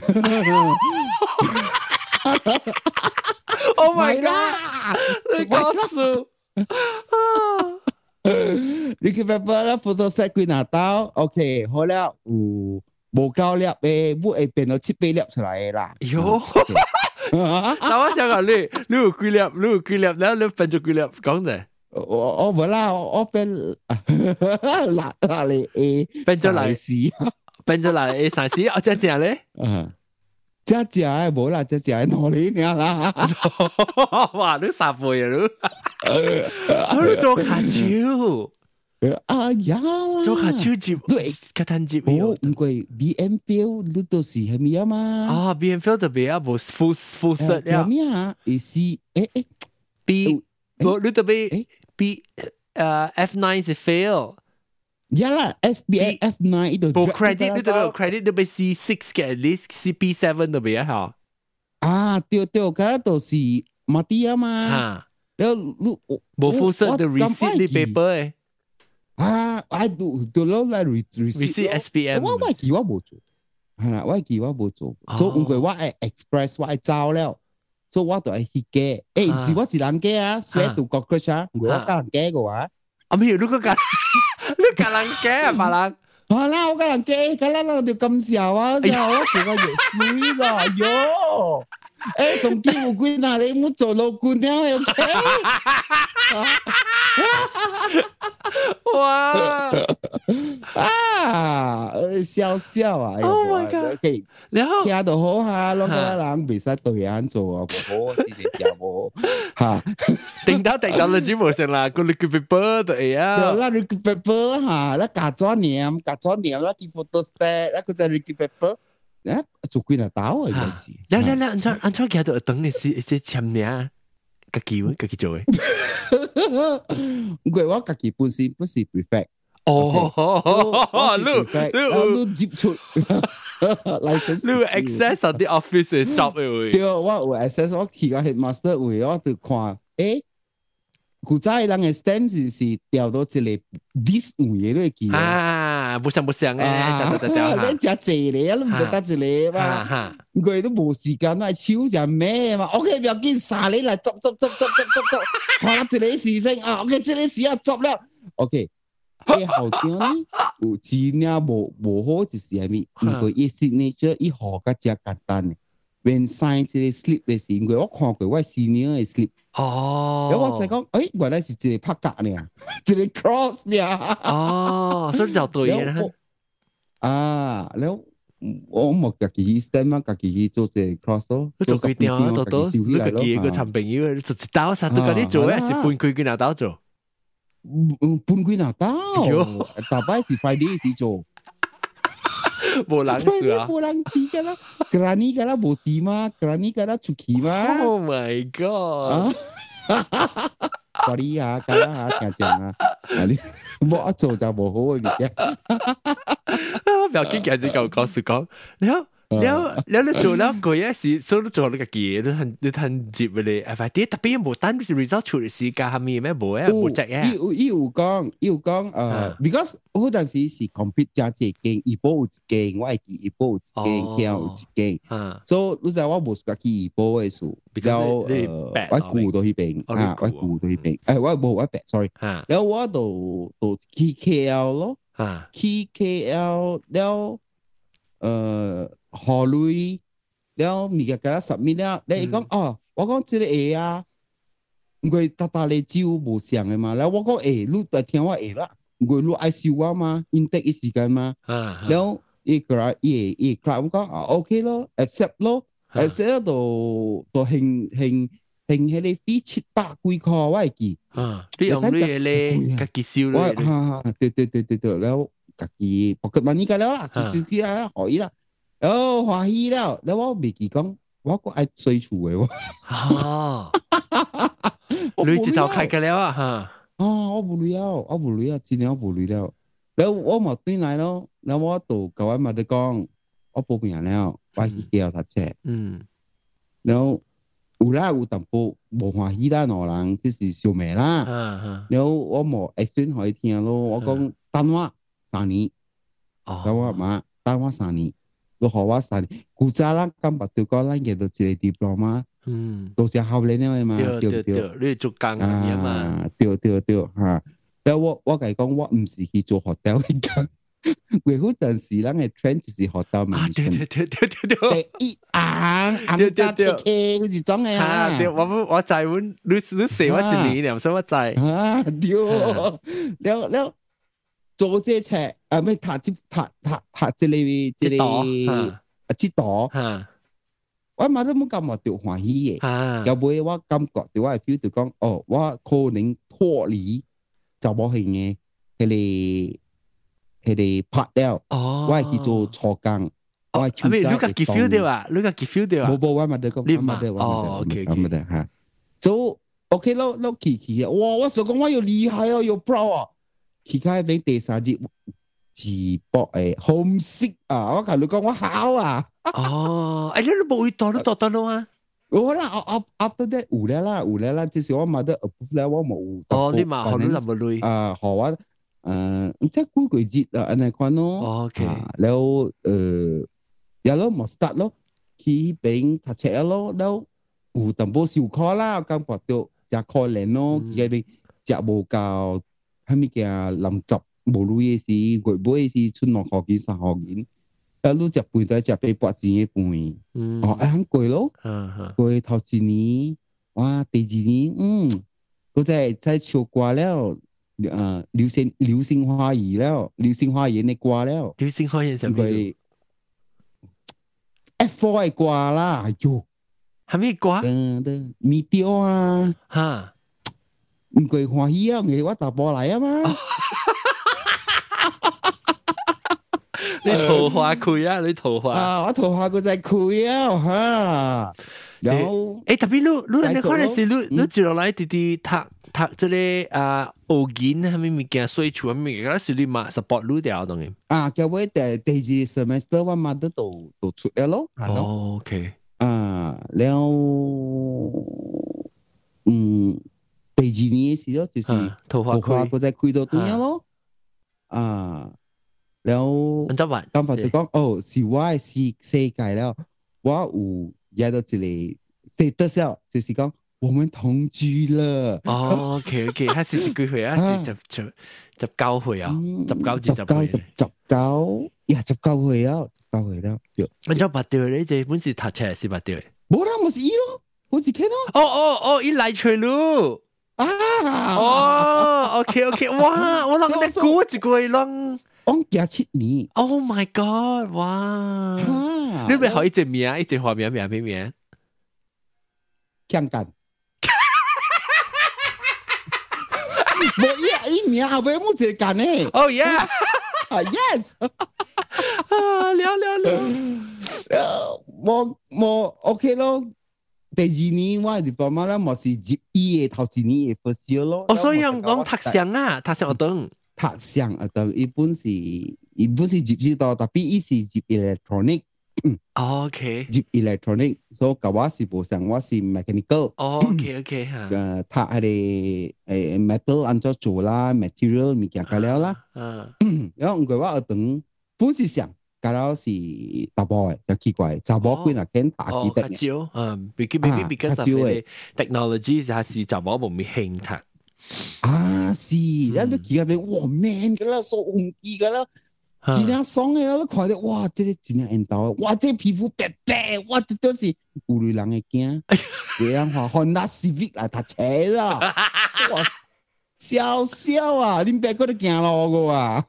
Oh my god！ 你講數你叫 paper 啦 ，photo set 幾拿刀 ？OK， 好了，有無夠粒誒，唔會變到七八粒出來嘅啦。喲！ 但我想講你，你有幾粒？你有幾粒？然後你變咗幾粒？講啫。 我我冇啦，我變嗱嗱你誒， 變咗嚟屎，變咗嚟誒三屎，我真正咧。嗯。只只誒冇啦，只只誒攞你娘啦！哇，你十倍啊你！我做卡超，啊呀！做卡超接，對，卡坦接哦，唔貴 B M Field 你都是係咩啊嘛？啊 ，B M Field 特別啊，冇 full full set 呀？咩啊？誒是誒誒 B，冇你特別 B 誒 F nine 是 fail。呀啦 ，S B F nine 呢度冇 credit， 呢度冇 credit 都俾 C six 嘅 at least C P seven 都俾啊嚇。啊，對對，嗰度是馬蒂啊嘛。嚇，然後你冇附上的 receipt 啲 paper 誒。啊，我do do 攞嚟 receipt S B M。我我記我冇做，係啦，我記我冇做，所以唔怪我係 express 我係走了，所以我都係去嘅。誒，是我是人嘅啊，所以讀國語啊，我教人嘅嘅話。啊，沒有，你個教。你教人嘅啊，白人。好啦，我教人嘅，咁啦，我哋咁少啊，之後我成個月衰啦，喲！誒，同機會官啊，你唔好做老官啊，有冇？哇！啊，笑笑啊 ！Oh my god！然後聽到好下，兩個人未使對眼做啊，唔好，你哋教我嚇。定到定到你只冇成啦，個你叫 paper 對啊。對啦，你叫 paper 嚇，啦假咗念，假咗念啦，叫 photo stat，啦個就你叫 paper，啊，做幾多刀啊？應該是。嚟嚟嚟，按照按照佢度等你是是簽名，家己家己做嘅。唔怪我家己本身不是 prefect。哦，你你接觸 license， 你 access 啲 office 嘅 job 嘅。對，我有 access， 我去個 headmaster 位，我就看，誒，古早人嘅 stamp 是是調到一個 this 位嘅記啊，不像不像誒，調調調，你只謝你啊，你唔覺得一個嘛？佢都冇時間嚟超人咩嘛 ？OK， 不要緊，殺你嚟執執執執執執執，看住你事情啊 ！OK， 這裡事啊執了 ，OK。嘅後邊咧，有字呢無無好就是係咪？因為伊 signature 伊號較只簡單嘅 ，when sign 這個 slip 嘅時，因為我看過我 senior 嘅 slip， 哦，然後我就講，誒，原來是一個拍格呢，一個 cross 呢，哦，所以就對嘅啦。啊，然後我冇家己 stand 啊，家己去做這 cross 咯，做幾點啊？到到你家己個產朋友，做一刀啥都家己做，還是分開幾拿刀做？半幾拿刀，大擺是 Friday 時做，冇人事啊，冇人知噶啦 ，Granny 噶啦冇地嘛 ，Granny 噶啦出去嘛 ，Oh my God，sorry 啊，噶啦嚇，聽講啊，你冇做就冇好嘅，不要緊，今日就講事講，你好。แล้วแล้ว你做แล้วก็ยังสิ所以做你個嘢你ทัน你ทัน接เลยF I D特別冇單 result 出嚟時間係咪咩冇啊冇隻嘅。要要講要講誒 ，because 好陣時是 compete 加一間，一波有一間，我係記一波有一間，聽有一間，所以你知我冇自己一波嘅數，然後誒我顧到嗰邊啊，我顧到嗰邊，誒我冇我白 sorry，然後我就就去 K L 咯，去 K L แล้ว誒。何類，然後咪個個十米了，你講哦，我講這個會啊，佢大大嚟招無上嘅嘛，然後我講誒，你來聽我會啦，佢你愛收我嘛 ，intake 嘅時間嘛，然後伊個伊伊個我講啊 ，OK 咯 ，accept 咯 ，accept 到到興興興迄個費七百幾塊我會記，啊，你用你嘅咧，家己收咧，哈哈，對對對對對，然後家己 pocket money 個啦，收收起來可以啦。哦，歡喜了，然後我未記講，我個愛追厝嘅喎。哦， 你直頭開個了啊哈！ 哦，我無聊，我無聊，真係我無聊。然後我冇轉來咯，然後我就甲我媽哋講，我報名了，我去叫讀冊。嗯。然後有啦有淡薄無歡喜啦，兩人就是小妹啦。嗯然後我冇 explain 互伊聽咯，我講等我三年，等我媽等我三年，都互我三年。古早啦，咁白對講，咱叫做一個 diploma。嗯，都是學歷了嘛，對對對，你做工嘅嘛，對對對嚇。然後我我甲伊講，我唔是去做 hotel 嘅工，為嗰陣時咱嘅 trend 就是 hotel 嘛。啊，對對對對對對。第一行行家的 K 嗰時裝嘅啊。對，我我知阮，你你寫我一年了，所以我知。啊，對。了了，做這冊啊，咩讀即讀讀讀即個即個啊，即度。嚇。我媽都冇咁話掉歡喜嘅，有冇我感覺到我係 feel 到講，哦，我可能脫離就冇型嘅，佢哋佢哋拍了，我係去做錯工，我係超揸嘅。你個 feel 到啊？你個 feel 到啊？冇冇，我媽都講，我媽都講，哦，OK OK，媽都嚇，so OK 咯，咯奇奇啊！哇，我想講我又厲害哦，又 pro 啊！奇開俾第三節自博誒homesick啊！我同你講我考啊！哦，哎，你都冇去讀都讀得咯啊！我啦，after that 有咧啦，有咧啦，就是我媽都 approve 咧，我冇。哦，你媽學你咁多累啊？學我誒，即係幾個月啊，安尼款咯。OK，แล้ว誒，有咯，冇 start 咯，去邊讀冊咯，แล้ว有淡薄小考啦，感覺到就可憐咯，佢邊就冇教，係咪叫臨執冇路嘅事，月尾嘅事，春落學見三學見。啊！你食飯都係食八百錢嘅飯，哦，係貴咯，貴頭一年，哇！第二年，嗯，嗰隻在唱歌了，誒，流星流星花園了，流星花園嘅歌了，流星花園係咩？F four 嘅歌啦，哎喲，係咩歌？噔噔，咪調啊，嚇，唔貴歡喜啊，我打波嚟啊嘛。你桃花開啊！你桃花啊！我桃花佢就係開啊嚇。有誒，特別你你你可能是你你接落來啲啲讀讀即係啊學緊係咪物件水處係咪物件？是你嘛 support 你條當然。啊，叫我第第二 semester 我嘛都都都出嚟咯。哦 ，OK。啊，แล้ว嗯第二年嘅時咯，就是桃花開，佢就開到點樣咯。啊。แล้ว咁法就講哦，是我嘅世世界了，我有也到一個 status 了，就是講我們同居了。哦 ，OK OK，他是幾歲啊？是十十十九歲啊？十九至十歲。十十九，呀，十九歲啊，十九歲了。我就八條咧，這本是讀冊是八條嘅。冇啦，我是伊咯，我是佢咯。哦哦哦，伊來吹路。啊！哦 ，OK OK，哇！我諗你估一個人。我廿七年 ，Oh my God！ 哇，你咪可以一名，一隻花名名咩名？強幹，冇一一名後邊冇一個幹呢。Oh yeah，Yes， 啊，了了了，冇冇 OK 咯。第二年我係爸媽啦，冇是入醫嘅頭一年嘅 first year 咯。哦，所以講讀上啊，讀上學堂。讀上啊，當一般是一般是入知道，特別伊是入 electronic。OK。入 electronic，所以個我是無上，我是 mechanical。OK OK 嚇。誒，讀係啲誒 metal 按照做啦 ，material 物件解了啦。嗯。然後唔過我學堂本是上，解了是查某嘅，就奇怪，查某幾若肯讀幾得嘅。哦，較少，嗯 ，because because of the technology 係是查某冇咩興讀。啊，是，人都見入邊，哇 man 噶啦，所紅肌噶啦，真正爽嘅，我看到，哇，這個真正緣投，哇，這皮膚白白，哇，這都是有類人嘅驚，這樣話 Honda Civic 來讀冊啦，哇，笑笑啊，你別個都驚咯個啊，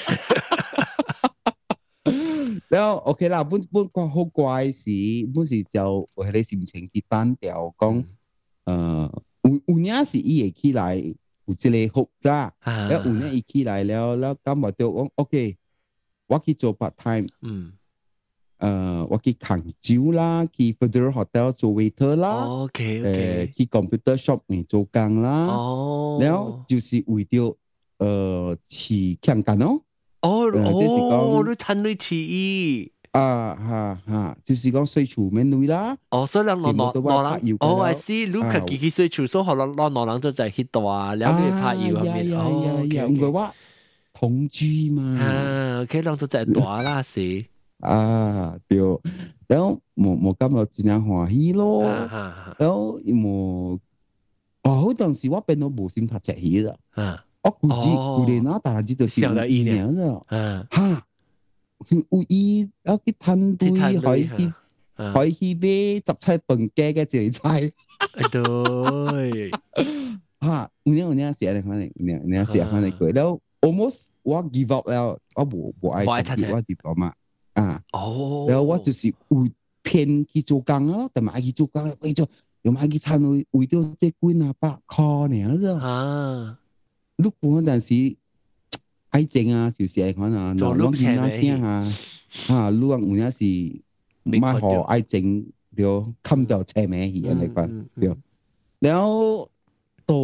然後 OK 啦，本本個好怪事，本是就為你心情去單調講，誒。有有影是伊會起來有一個複雜，แล้ว有影伊起來了，แล้ว感覺到講 OK，我去做 part time，嗯， 誒，我去杭州啦，去 Federal Hotel 做 waiter 啦 ，OK 誒 OK， 去 computer shop 嚟做工啦， 哦， 然後就是為咗誒去香港咯， 哦哦， 你參與起義。 啊哈哈，就是講水處面女啦。 哦，所以兩兩兩人，哦，I see，你佢自己水處，所以可能兩兩人就在去大，然後佢拍油入面。哦，OK， 唔係話同居嘛。 啊，OK，兩就在大啦，是。 啊，對，然後我我感覺真係歡喜咯。然後我，哦，好當時我變到無心讀冊戲啦。啊，我估計佢哋那大隻就是有一年啦。啊，哈。有意要去探對，可以去可以去買雜菜飯家嘅這菜。 對， 嚇！有呢有呢時啊，你看你你你時啊，看你佢，然後 almost 我 give up 了，我無無愛讀我 diploma 啊。哦。然後我就是有偏去做工咯，但係去做工為咗又買去探為為咗這幾廿百塊呢啫。啊。如果嗰陣時。愛情啊，就是係可能，嗱，我見那聽下，啊，如果有陣時買好愛情，就冚到車尾去，你講對。然後到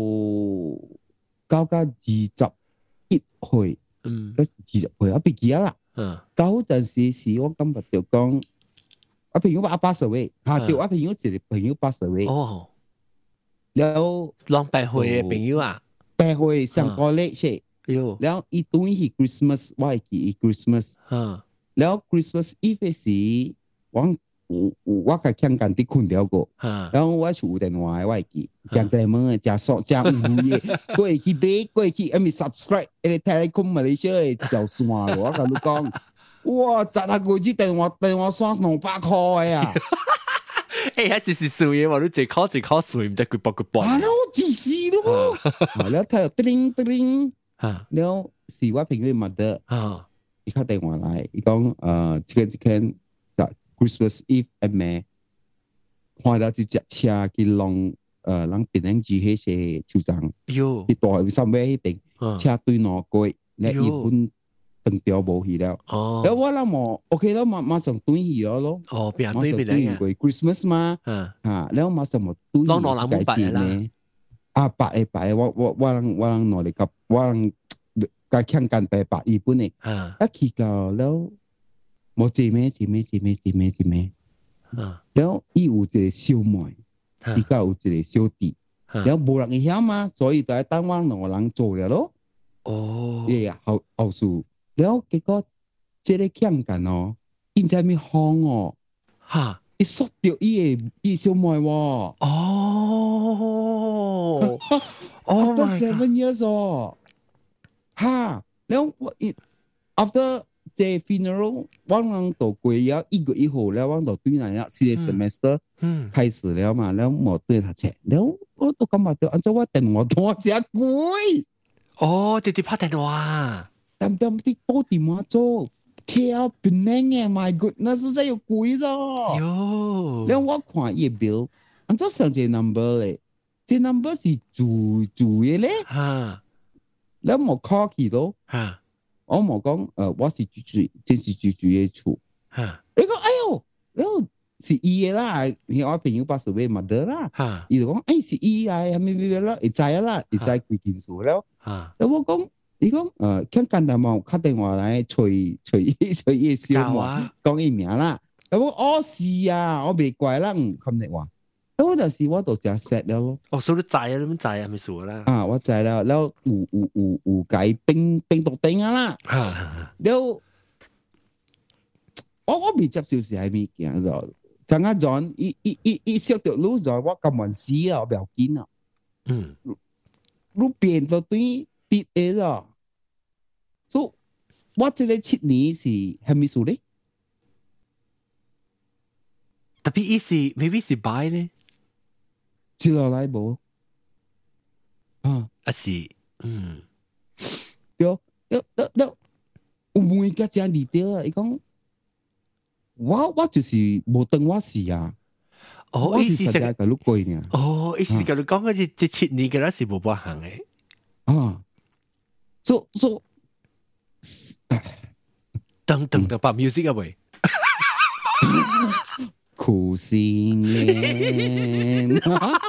九加二十一歲，嗯，二十歲我畢業啦。嗯，嗰陣時是我感覺就講，我朋友八八十歲，嚇，對，我朋友一個朋友八十歲。哦。然後兩百歲嘅朋友啊， 百歲上過嚟先。然後伊對去 Christmas， 我係記 Christmas。然後 Christmas Eve 時，我我係香港啲困掉過。然後我係有電話，我係記，講電話，講數，講五嘢，過去買，過去阿咪 subscribe，誒，Telecom Malaysia 嘅條線咯。我同你講，哇，十下個支電話電話線兩百塊啊！ 誒，還是是數嘢喎，你一考一考數，唔知幾百幾百。 啊，我自私咯，然後睇到叮叮。啊，然後是我朋友嘅 mother，啊，伊打電話來，伊講，誒，即個即個，就 Christmas Eve 暗暝，看到一隻車去弄，誒，讓別人住喺些球場，喲，去大喺三尾迄邊，車對兩過，你一本斷掉無去了，哦，然後我諗我 OK 咯，馬馬上對去咗咯，哦，馬上對去 Christmas 嘛，啊，啊，然後馬上我對去解釋呢。啊，白誒白誒，我我我人我人攞嚟夾，我人甲香港白白日本誒，一去到了，冇姐妹姐妹姐妹姐妹姐妹，然後伊有一個小妹，伊甲有一個小弟，然後無人會曉嘛，所以就係等我兩個人做了咯。哦，誒呀，後後數，然後結果這個香港哦，伊在咪慌哦，嚇。伊縮掉伊個伊小妹喎，哦，哦，after seven years 哦，哈，然後我 after the funeral，我人到過了一個月後，然後我到對嚟了，四個 semester 開始了嘛，然後我對他講，然後我都感覺到，按照我電話多隻貴，哦，直接拍電話，點點啲煲電話做。K L 檳榔誒 ，my goodness，真係要貴咗。喲，然後我看伊個表，按照上隻 number 咧，隻 number 是住住嘅咧。嚇，然後我 call 佢到，嚇，我冇講，誒，我是住住，真是住住嘅厝。嚇，你講，哎呦，然後是伊嘅啦，我朋友八十歲 mother 啦。嚇，伊就講，誒，是伊啊，咩咩咩啦，會知啊啦，會知幾件數了。嚇，然後我講。伊講誒，香港大網打電話來催催催伊小妹講伊名啦。咁我哦是啊，我未怪啦，唔咁你話。咁我就是我就成 set 了咯。哦，所以你知啊，你點知啊？咪數啦。啊，我知啦，然後有有有有解冰冰毒定啊啦。然後我我未接受是係咩件咗？陣間陣伊伊伊伊識條路咗，我咁問死啊，我唔要緊啊。嗯，路邊就對。跌嘅啫，所以我這個七年是係咪數咧？特別意思，maybe 是 buy 咧，接落來冇啊，啊是，嗯，有有有有，有每個這樣嚟掉啊！伊講，我我就是冇當我是啊，哦，意思係個路過呢，哦，意思係個講嗰隻隻七年嘅啦是冇辦行嘅，啊。So so，等等等，把 music 啊喂， 苦心練。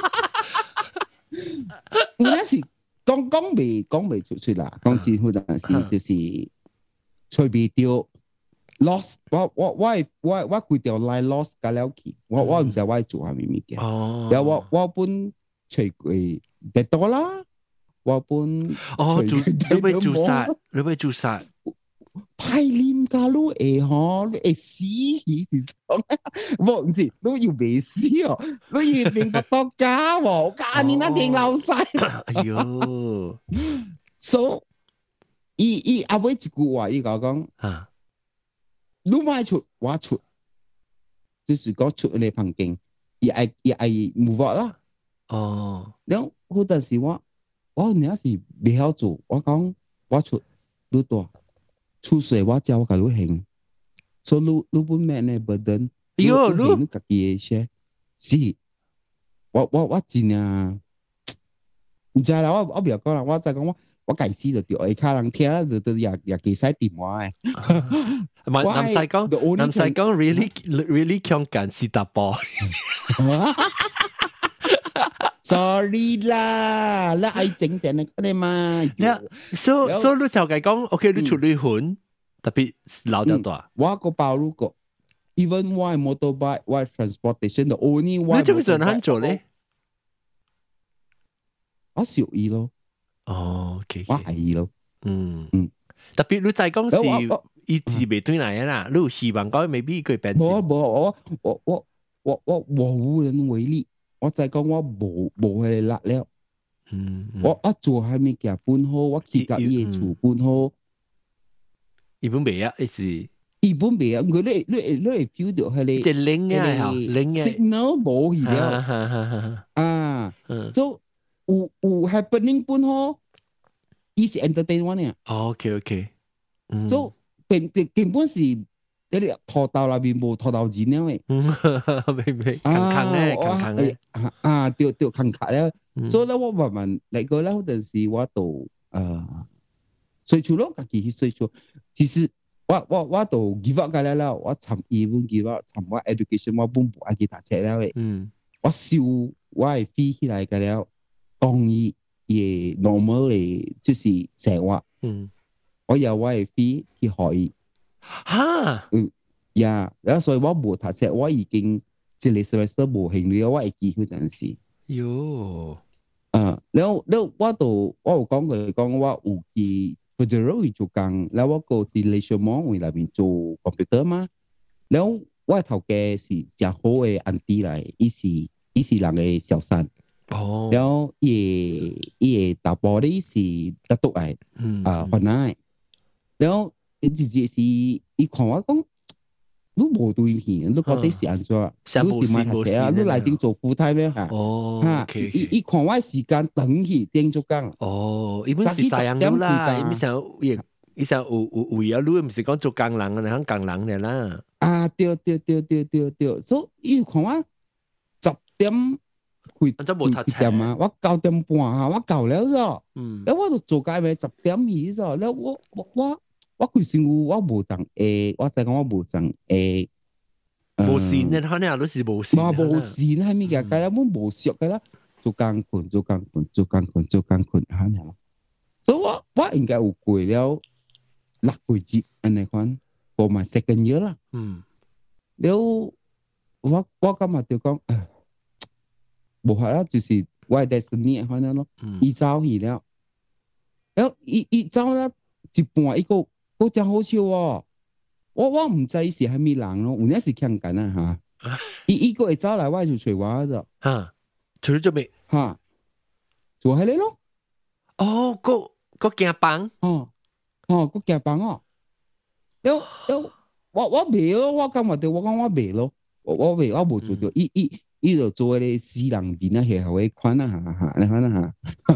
那是講講未講未出出啦，講真好陣時就是隨便掉 lost， 我我我我我幾條 line lost 咗了去，我我唔知我做下咩物件。然後我我本隨過得多啦，我本哦，做你會做殺，你會做殺。 太黏㗎咯，誒嗬，你誒死起是講，我唔是，你要未死哦，你要明白到假喎，假你那定老曬。哎呦 ，so， 伊伊阿尾一句話，伊講講，啊，你買出我出，就是講出你旁邊，伊愛伊愛 move out 啦。哦，然後嗰陣時我我那是未曉做，我講我出你多。出水我教我甲你行，所以你你本命呢 burden， 你你家己嘅些，是，我我我真啊，唔知啦，我我唔要講啦，我再講我我解釋就對，下人聽就就也也幾使電話誒。 南西講，南西講 really really 強幹是大波。 sorry 啦，你愛整成你你嘛？ 所所以你就係講 ，OK， 你出嚟混，特別老得多。 我個包路個 ，even why motorbike, why transportation, the only one。 你做咩做難做咧？ 我小意咯。 哦 ，OK， 我係意咯。 嗯嗯，特別你就係講是意志未對嚟啦，你有希望講未必佢變。 冇冇，我我我我我我無能為力。我就係講我無無係力了，嗯嗯、我我做係物件本好，我去甲伊嘅厝本好， 伊本未啊，意思伊本未啊，佢你你你會 feel 到係你， 即係靈啊，靈嘅 signal 冇去了，啊，所以有有 happening 本好，伊是 entertainment 嘅 ，OK OK， 所以根根本是。你哋拖到那邊冇拖到錢了誒， 明明坑坑咧，坑坑咧， 啊，掉掉坑坑咧，所以咧我慢慢嚟過咧，嗰陣時我度誒，隨處咯，家己去隨處。其實我我我度 give up 㗎啦啦，我尋伊本 give up，尋我 education 我本唔愛去讀冊啦誒，嗯，我收我係飛起來㗎了，講伊嘅 normal 嘅就是生活，嗯，我由我係飛去學伊。哈，嗯呀，然後所以我冇讀冊，我已經一個 semester 冇興趣，我係記嗰陣時。喲，啊，然後然後我度我有講佢講我有去 Federal 做工，然後我個 relation 網喺裏面做 computer 嘛，然後我頭家是真好嘅 auntie 嚟，伊是伊是人嘅小三。哦，然後伊伊大波咧是得督嚟，啊，雲南，然後。你直接是，伊看我講，你無對片，你覺得是安怎？你是買讀冊啊？你來定做副太咩嚇？哦，嚇，伊伊看我時間等去定做工。哦，伊本是太陽路啦，伊想伊伊想有有為啊，你唔是講做工人啊，你講工人嘅啦。啊，對對對對對對，所以伊看我十點開開點啊，我九點半啊，我夠了咗。嗯，แล้ว我就做街咪十點起咗，แล้ว我我我。我佢先我無當誒，我就講我無當誒， 無線嘅，可能都是無線。 我無線係咪嘅？佢啦，我無熟嘅啦，做工困，做工困，做工困，做工困，嚇你。所以我我應該有過了六個月安尼款 ，for my second year 啦。嗯。了，我我今日就講，無係啦，就是我係 destiny 可能咯。伊走去了，了伊伊走啦一半一個。嗰真好笑喎！我我唔知是係咩人咯，有陣時強緊啊嚇！伊伊個會走來，我就隨我咗嚇， 除咗做咩嚇？做係你咯！ 哦，個個鏡棒哦哦，個鏡棒哦！有有我我未咯，我今日對我講我未咯，我我未我冇做到，伊伊伊就做啲私人邊啊，係後尾款啊嚇嚇，你看啊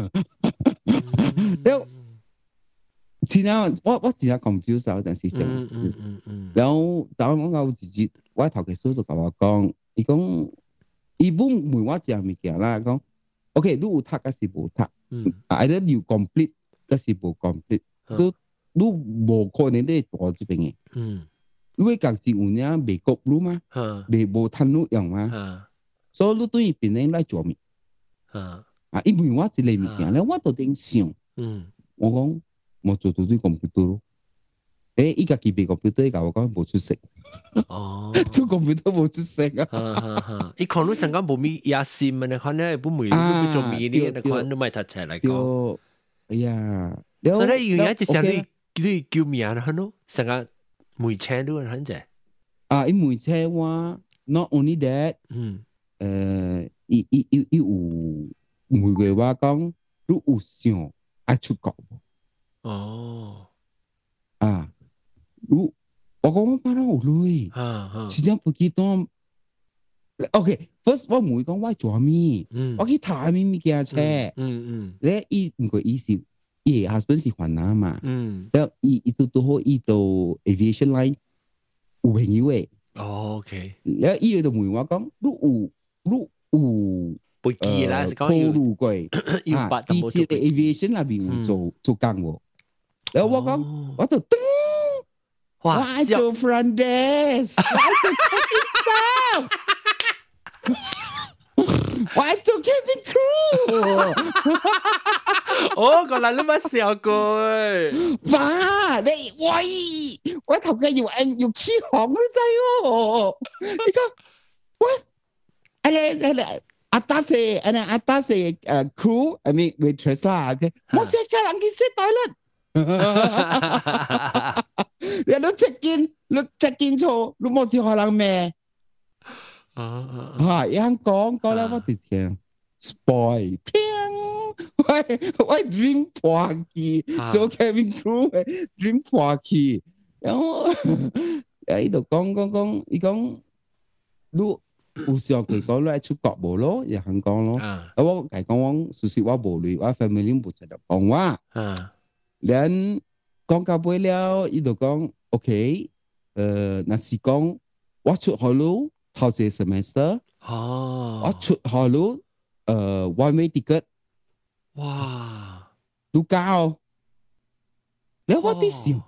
嚇，有。真啊！我我真係 confuse 嗰陣時就，嗯嗯嗯嗯。然後當我有自己，我頭家叔就同我講，伊講，伊本問我一樣物件啦，講 ，OK， 你有讀還是無讀？嗯，啊，你要 complete 還是無 complete？都你無可能你讀這邊嘅。嗯， 你會講是有呢未國路嘛，未無攤路用嘛，所以你對邊人來做咩？啊，因為我一個物件咧，我都頂想，我講我做到對 computer 咯，誒，伊家己備 computer，伊甲我講無出色，哦，做 computer 無出色啊， 伊可能成間無咪野心嘅，可能不每你做咪呢，可能都咪讀出來講， 哎呀， 所以有嘢就成你你叫名啦，喏，成個梅車都很濟， 啊，伊梅車話 not only that，嗯，誒，伊伊伊伊有每個話講，你有想愛出國無？哦，啊，你我講我班有累，時間不記得。OK，first 我唔會講我做咩，我去睇咩物件車，嗯嗯，咧伊唔過伊是伊 husband 是華南嘛，嗯，แล้ว伊伊都都好伊到 aviation line 有朋友誒，哦 OK，แล้ว伊就問我講，你有你有不記啦，是講有路過，啊，啲即係 aviation 那邊有做做工喎，แล้ว我講我就噔，我愛做 front desk，我愛做 coffee staff。我愛做 cabin crew， 哦，原來你冇笑過誒， 爸，你喂，我頭家要按要起航都知喎，你講我，阿你阿你阿達些阿你阿達些誒 crew，I mean waitress 啦 ，OK， 我成家人去食台啦，你都 check in，你 check in 錯，你冇是可能咩？啊啊！一樣講講咧，我哋聽 spoil，喂喂 dream 破去，做 cabin crew 嘅 dream 破去，然後喺度講講講，伊講你有想佢講咧出國無咯，又肯講咯。啊，我係講講，事實我無累，我 family 冇出嚟講話。啊，然講到尾了，伊就講 OK，誒，那是講我出海路。頭些 semester，哦，我出海路，誒 one way ticket，哇，都高，你我啲想，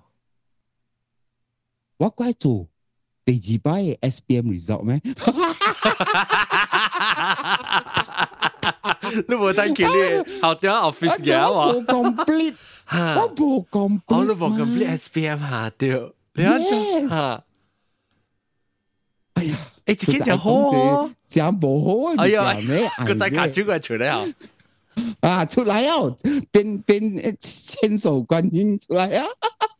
我該做第二擺嘅 S P M result 咩？ 你冇等佢咧，後邊 office 嘅喎， 我冇 complete，我冇 complete，我都冇 complete S P M 下掉，你睇下， 哎呀！ 誒，自己就好哦， 真無好啊！ 哎呀，個仔卡超過出嚟啊！ 啊，出來啊！變變千手觀音出來啊！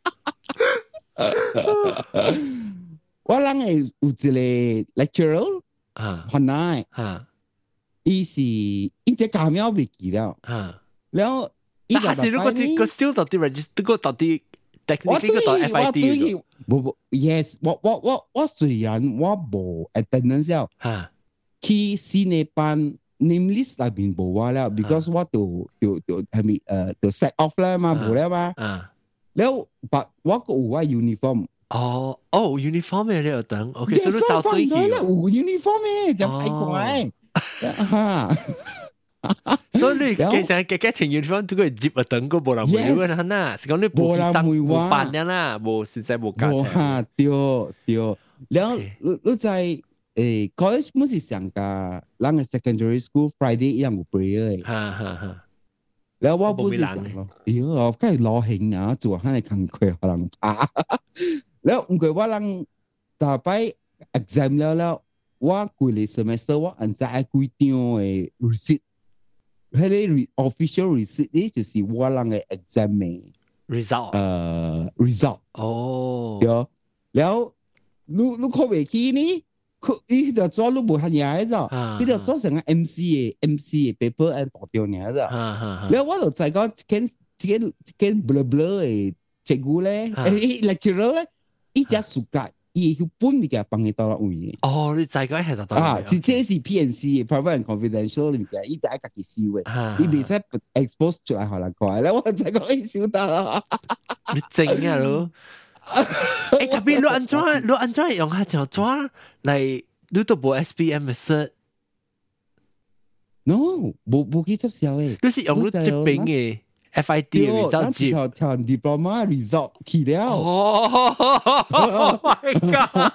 我人係有一個 lecturer 啊，很耐啊，伊是伊只假名未記了啊，然後伊個係如果啲個 still 到啲 register 個到啲 technically 個到 F I D 不不 ，yes， 我我我我雖然我無 attendance 了，嚇，去新嘅班 name list 入邊無我了 ，because 我就就就係咪誒就 set off 啦嘛，無了嘛，啊，然後但我個有我 uniform， 哦哦 uniform 嘅你又等 ，OK，所以都找對嘅， 有 uniform 嘅就太怪，嚇。 所以你其實嘅嘅情緣方都佢接啊等個無人會揾佢啦，是講你無生無辦嘅啦，無實在無價值。 嚇，對對，然後你你在誒 college 冇是上架，人嘅 secondary school Friday 一樣有 prayer 嘅。嚇嚇嚇。然後我不是上咯，咦，我梗係攞興啊，做下係勤快可能怕。然後唔過我人大擺 exam 了了，我過嚟 semester 我按在幾張嘅 receipt。佢啲 official receipt 咧，就是我人嘅 exam 嘅 result， 誒 result。哦，有，然後你你考未起呢？佢呢條做你冇係嘢啫，呢條做成個 M C 嘅 M C 嘅 paper 係大條嘢啫。然後我就再講間間間 blur blur 嘅職務咧，誒 lecturer 咧，一隻暑假。伊要搬物件幫你到啦位。 哦，你再講係到啊，是這是 P N C，private and confidential 物件，伊第一家己收嘅，伊未使 expose 出來，互人看。咧，我再講伊收到啦。 你整啊咯？誒，特別你安怎你安怎用下條怎嚟？你都無 S P M 嘅 cert？No， 無無去執銷誒。 你是用你這邊嘅 F I T result 接，跳跳 diploma result 去了。 哦 ，Oh my god！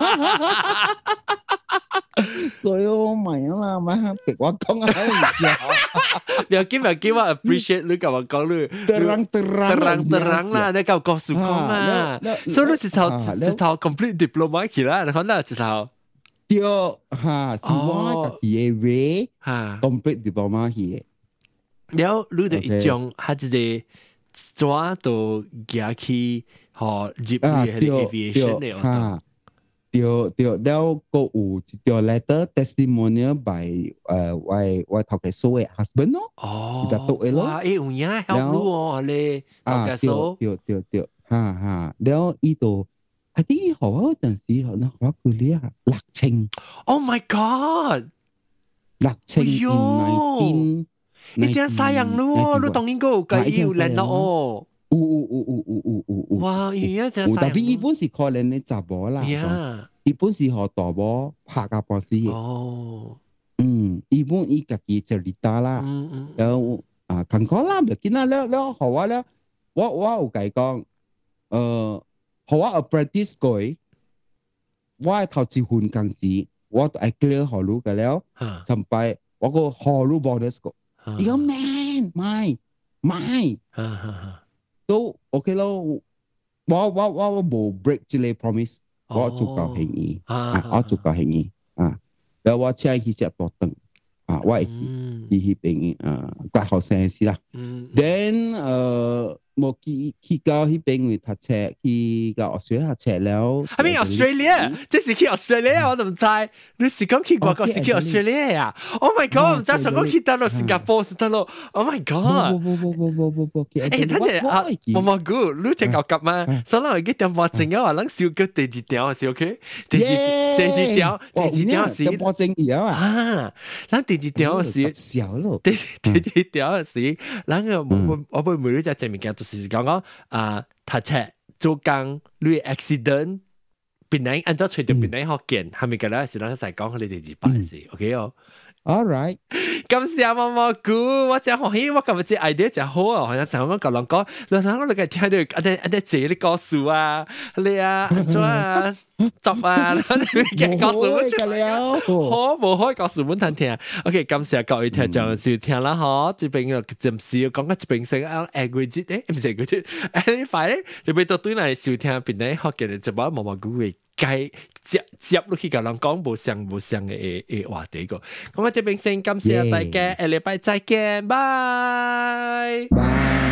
所以我買啦，買別我講啊， 不要緊，不要緊，我 appreciate 你甲我講你， terang terang terang terang 啦，你甲我告訴講啊，所以你一頭一頭 complete diploma 去啦，你看啦一頭。 對，哈，是我家己嘅way，哈 ，complete diploma 去。 然後你就一種，他一個抓到寄去，和入去迄個 aviation 嘅哈。對對，แล้วก็有一條 letter testimonial by 誒我我頭家嫂嘅 husband 咯， 哦， 就讀嘅咯， 哇，誒有影 help 你喎，你頭家嫂， 對對對，哈哈，แล้ว伊度係啲學嗰陣時，可能學佢呢啊六千 ，Oh my God， 六千 in nineteen， 你真係人咯，你當應該有計要練咯哦。 有有有有有有有有， 哇！原來真係， 特別伊本是可能你查某啦，伊本是學大某拍甲半死嘅。哦，嗯，伊本伊家己就嚟打啦，嗯嗯，然後啊，坎坷啦，唔見啦，了了，學我了，我我有甲伊講，呃，學我 apprentice 過，我頭一份工資，我都係 clear 學路嘅了，上擺我個學路 bonus 個，伊講 man，買買，哈哈哈。都 OK 咯，我我我我冇 break 之類 promise， 我做夠便宜啊，我做夠便宜啊，然後我請佢食多頓啊，我係佢去便宜啊，怪後生事啦。then 誒冇去去到去邊位讀冊，去到澳洲讀冊了。 I mean Australia，即是去 Australia，我都唔知。你是講去外國是去 Australia 呀 ？Oh my god！ 唔知想講去到咯新加坡是得咯。Oh my god！ 不不不不不不， 誒，等陣啊，毛毛菇，你只夠急嗎？所以我嘅電話正嘅話，咱燒叫第二條是 OK？第二第二條第二條是電話正嘢啊！ 啊，咱第二條是小咯， 第第二條是，咱個我我我每日在正面見到。是講講啊，讀冊做工，你 accident，別人按照隨條別人學見，係咪㗎啦？是咱在講你哋二百事 ，OK 哦。 All right， 感謝毛毛菇，我真歡喜，我今日這 idea 真好啊！好像成日講人講，然後我哋聽到一啲一啲字啲故事啊，你啊，做啊，作啊，然後你嘅故事本出嚟，好無可以故事本聽聽。OK，感謝各位聽眾收聽啦，嗬，這邊又暫時要講個一邊先啊 ，aggregate 誒，唔係 aggregate，誒，快咧，你俾到對嚟收聽邊啲學嘅就把毛毛菇嘅。該接接落去，甲人講無相無相嘅誒誒話題個，咁我這邊先感謝大家，下禮拜再見，拜拜。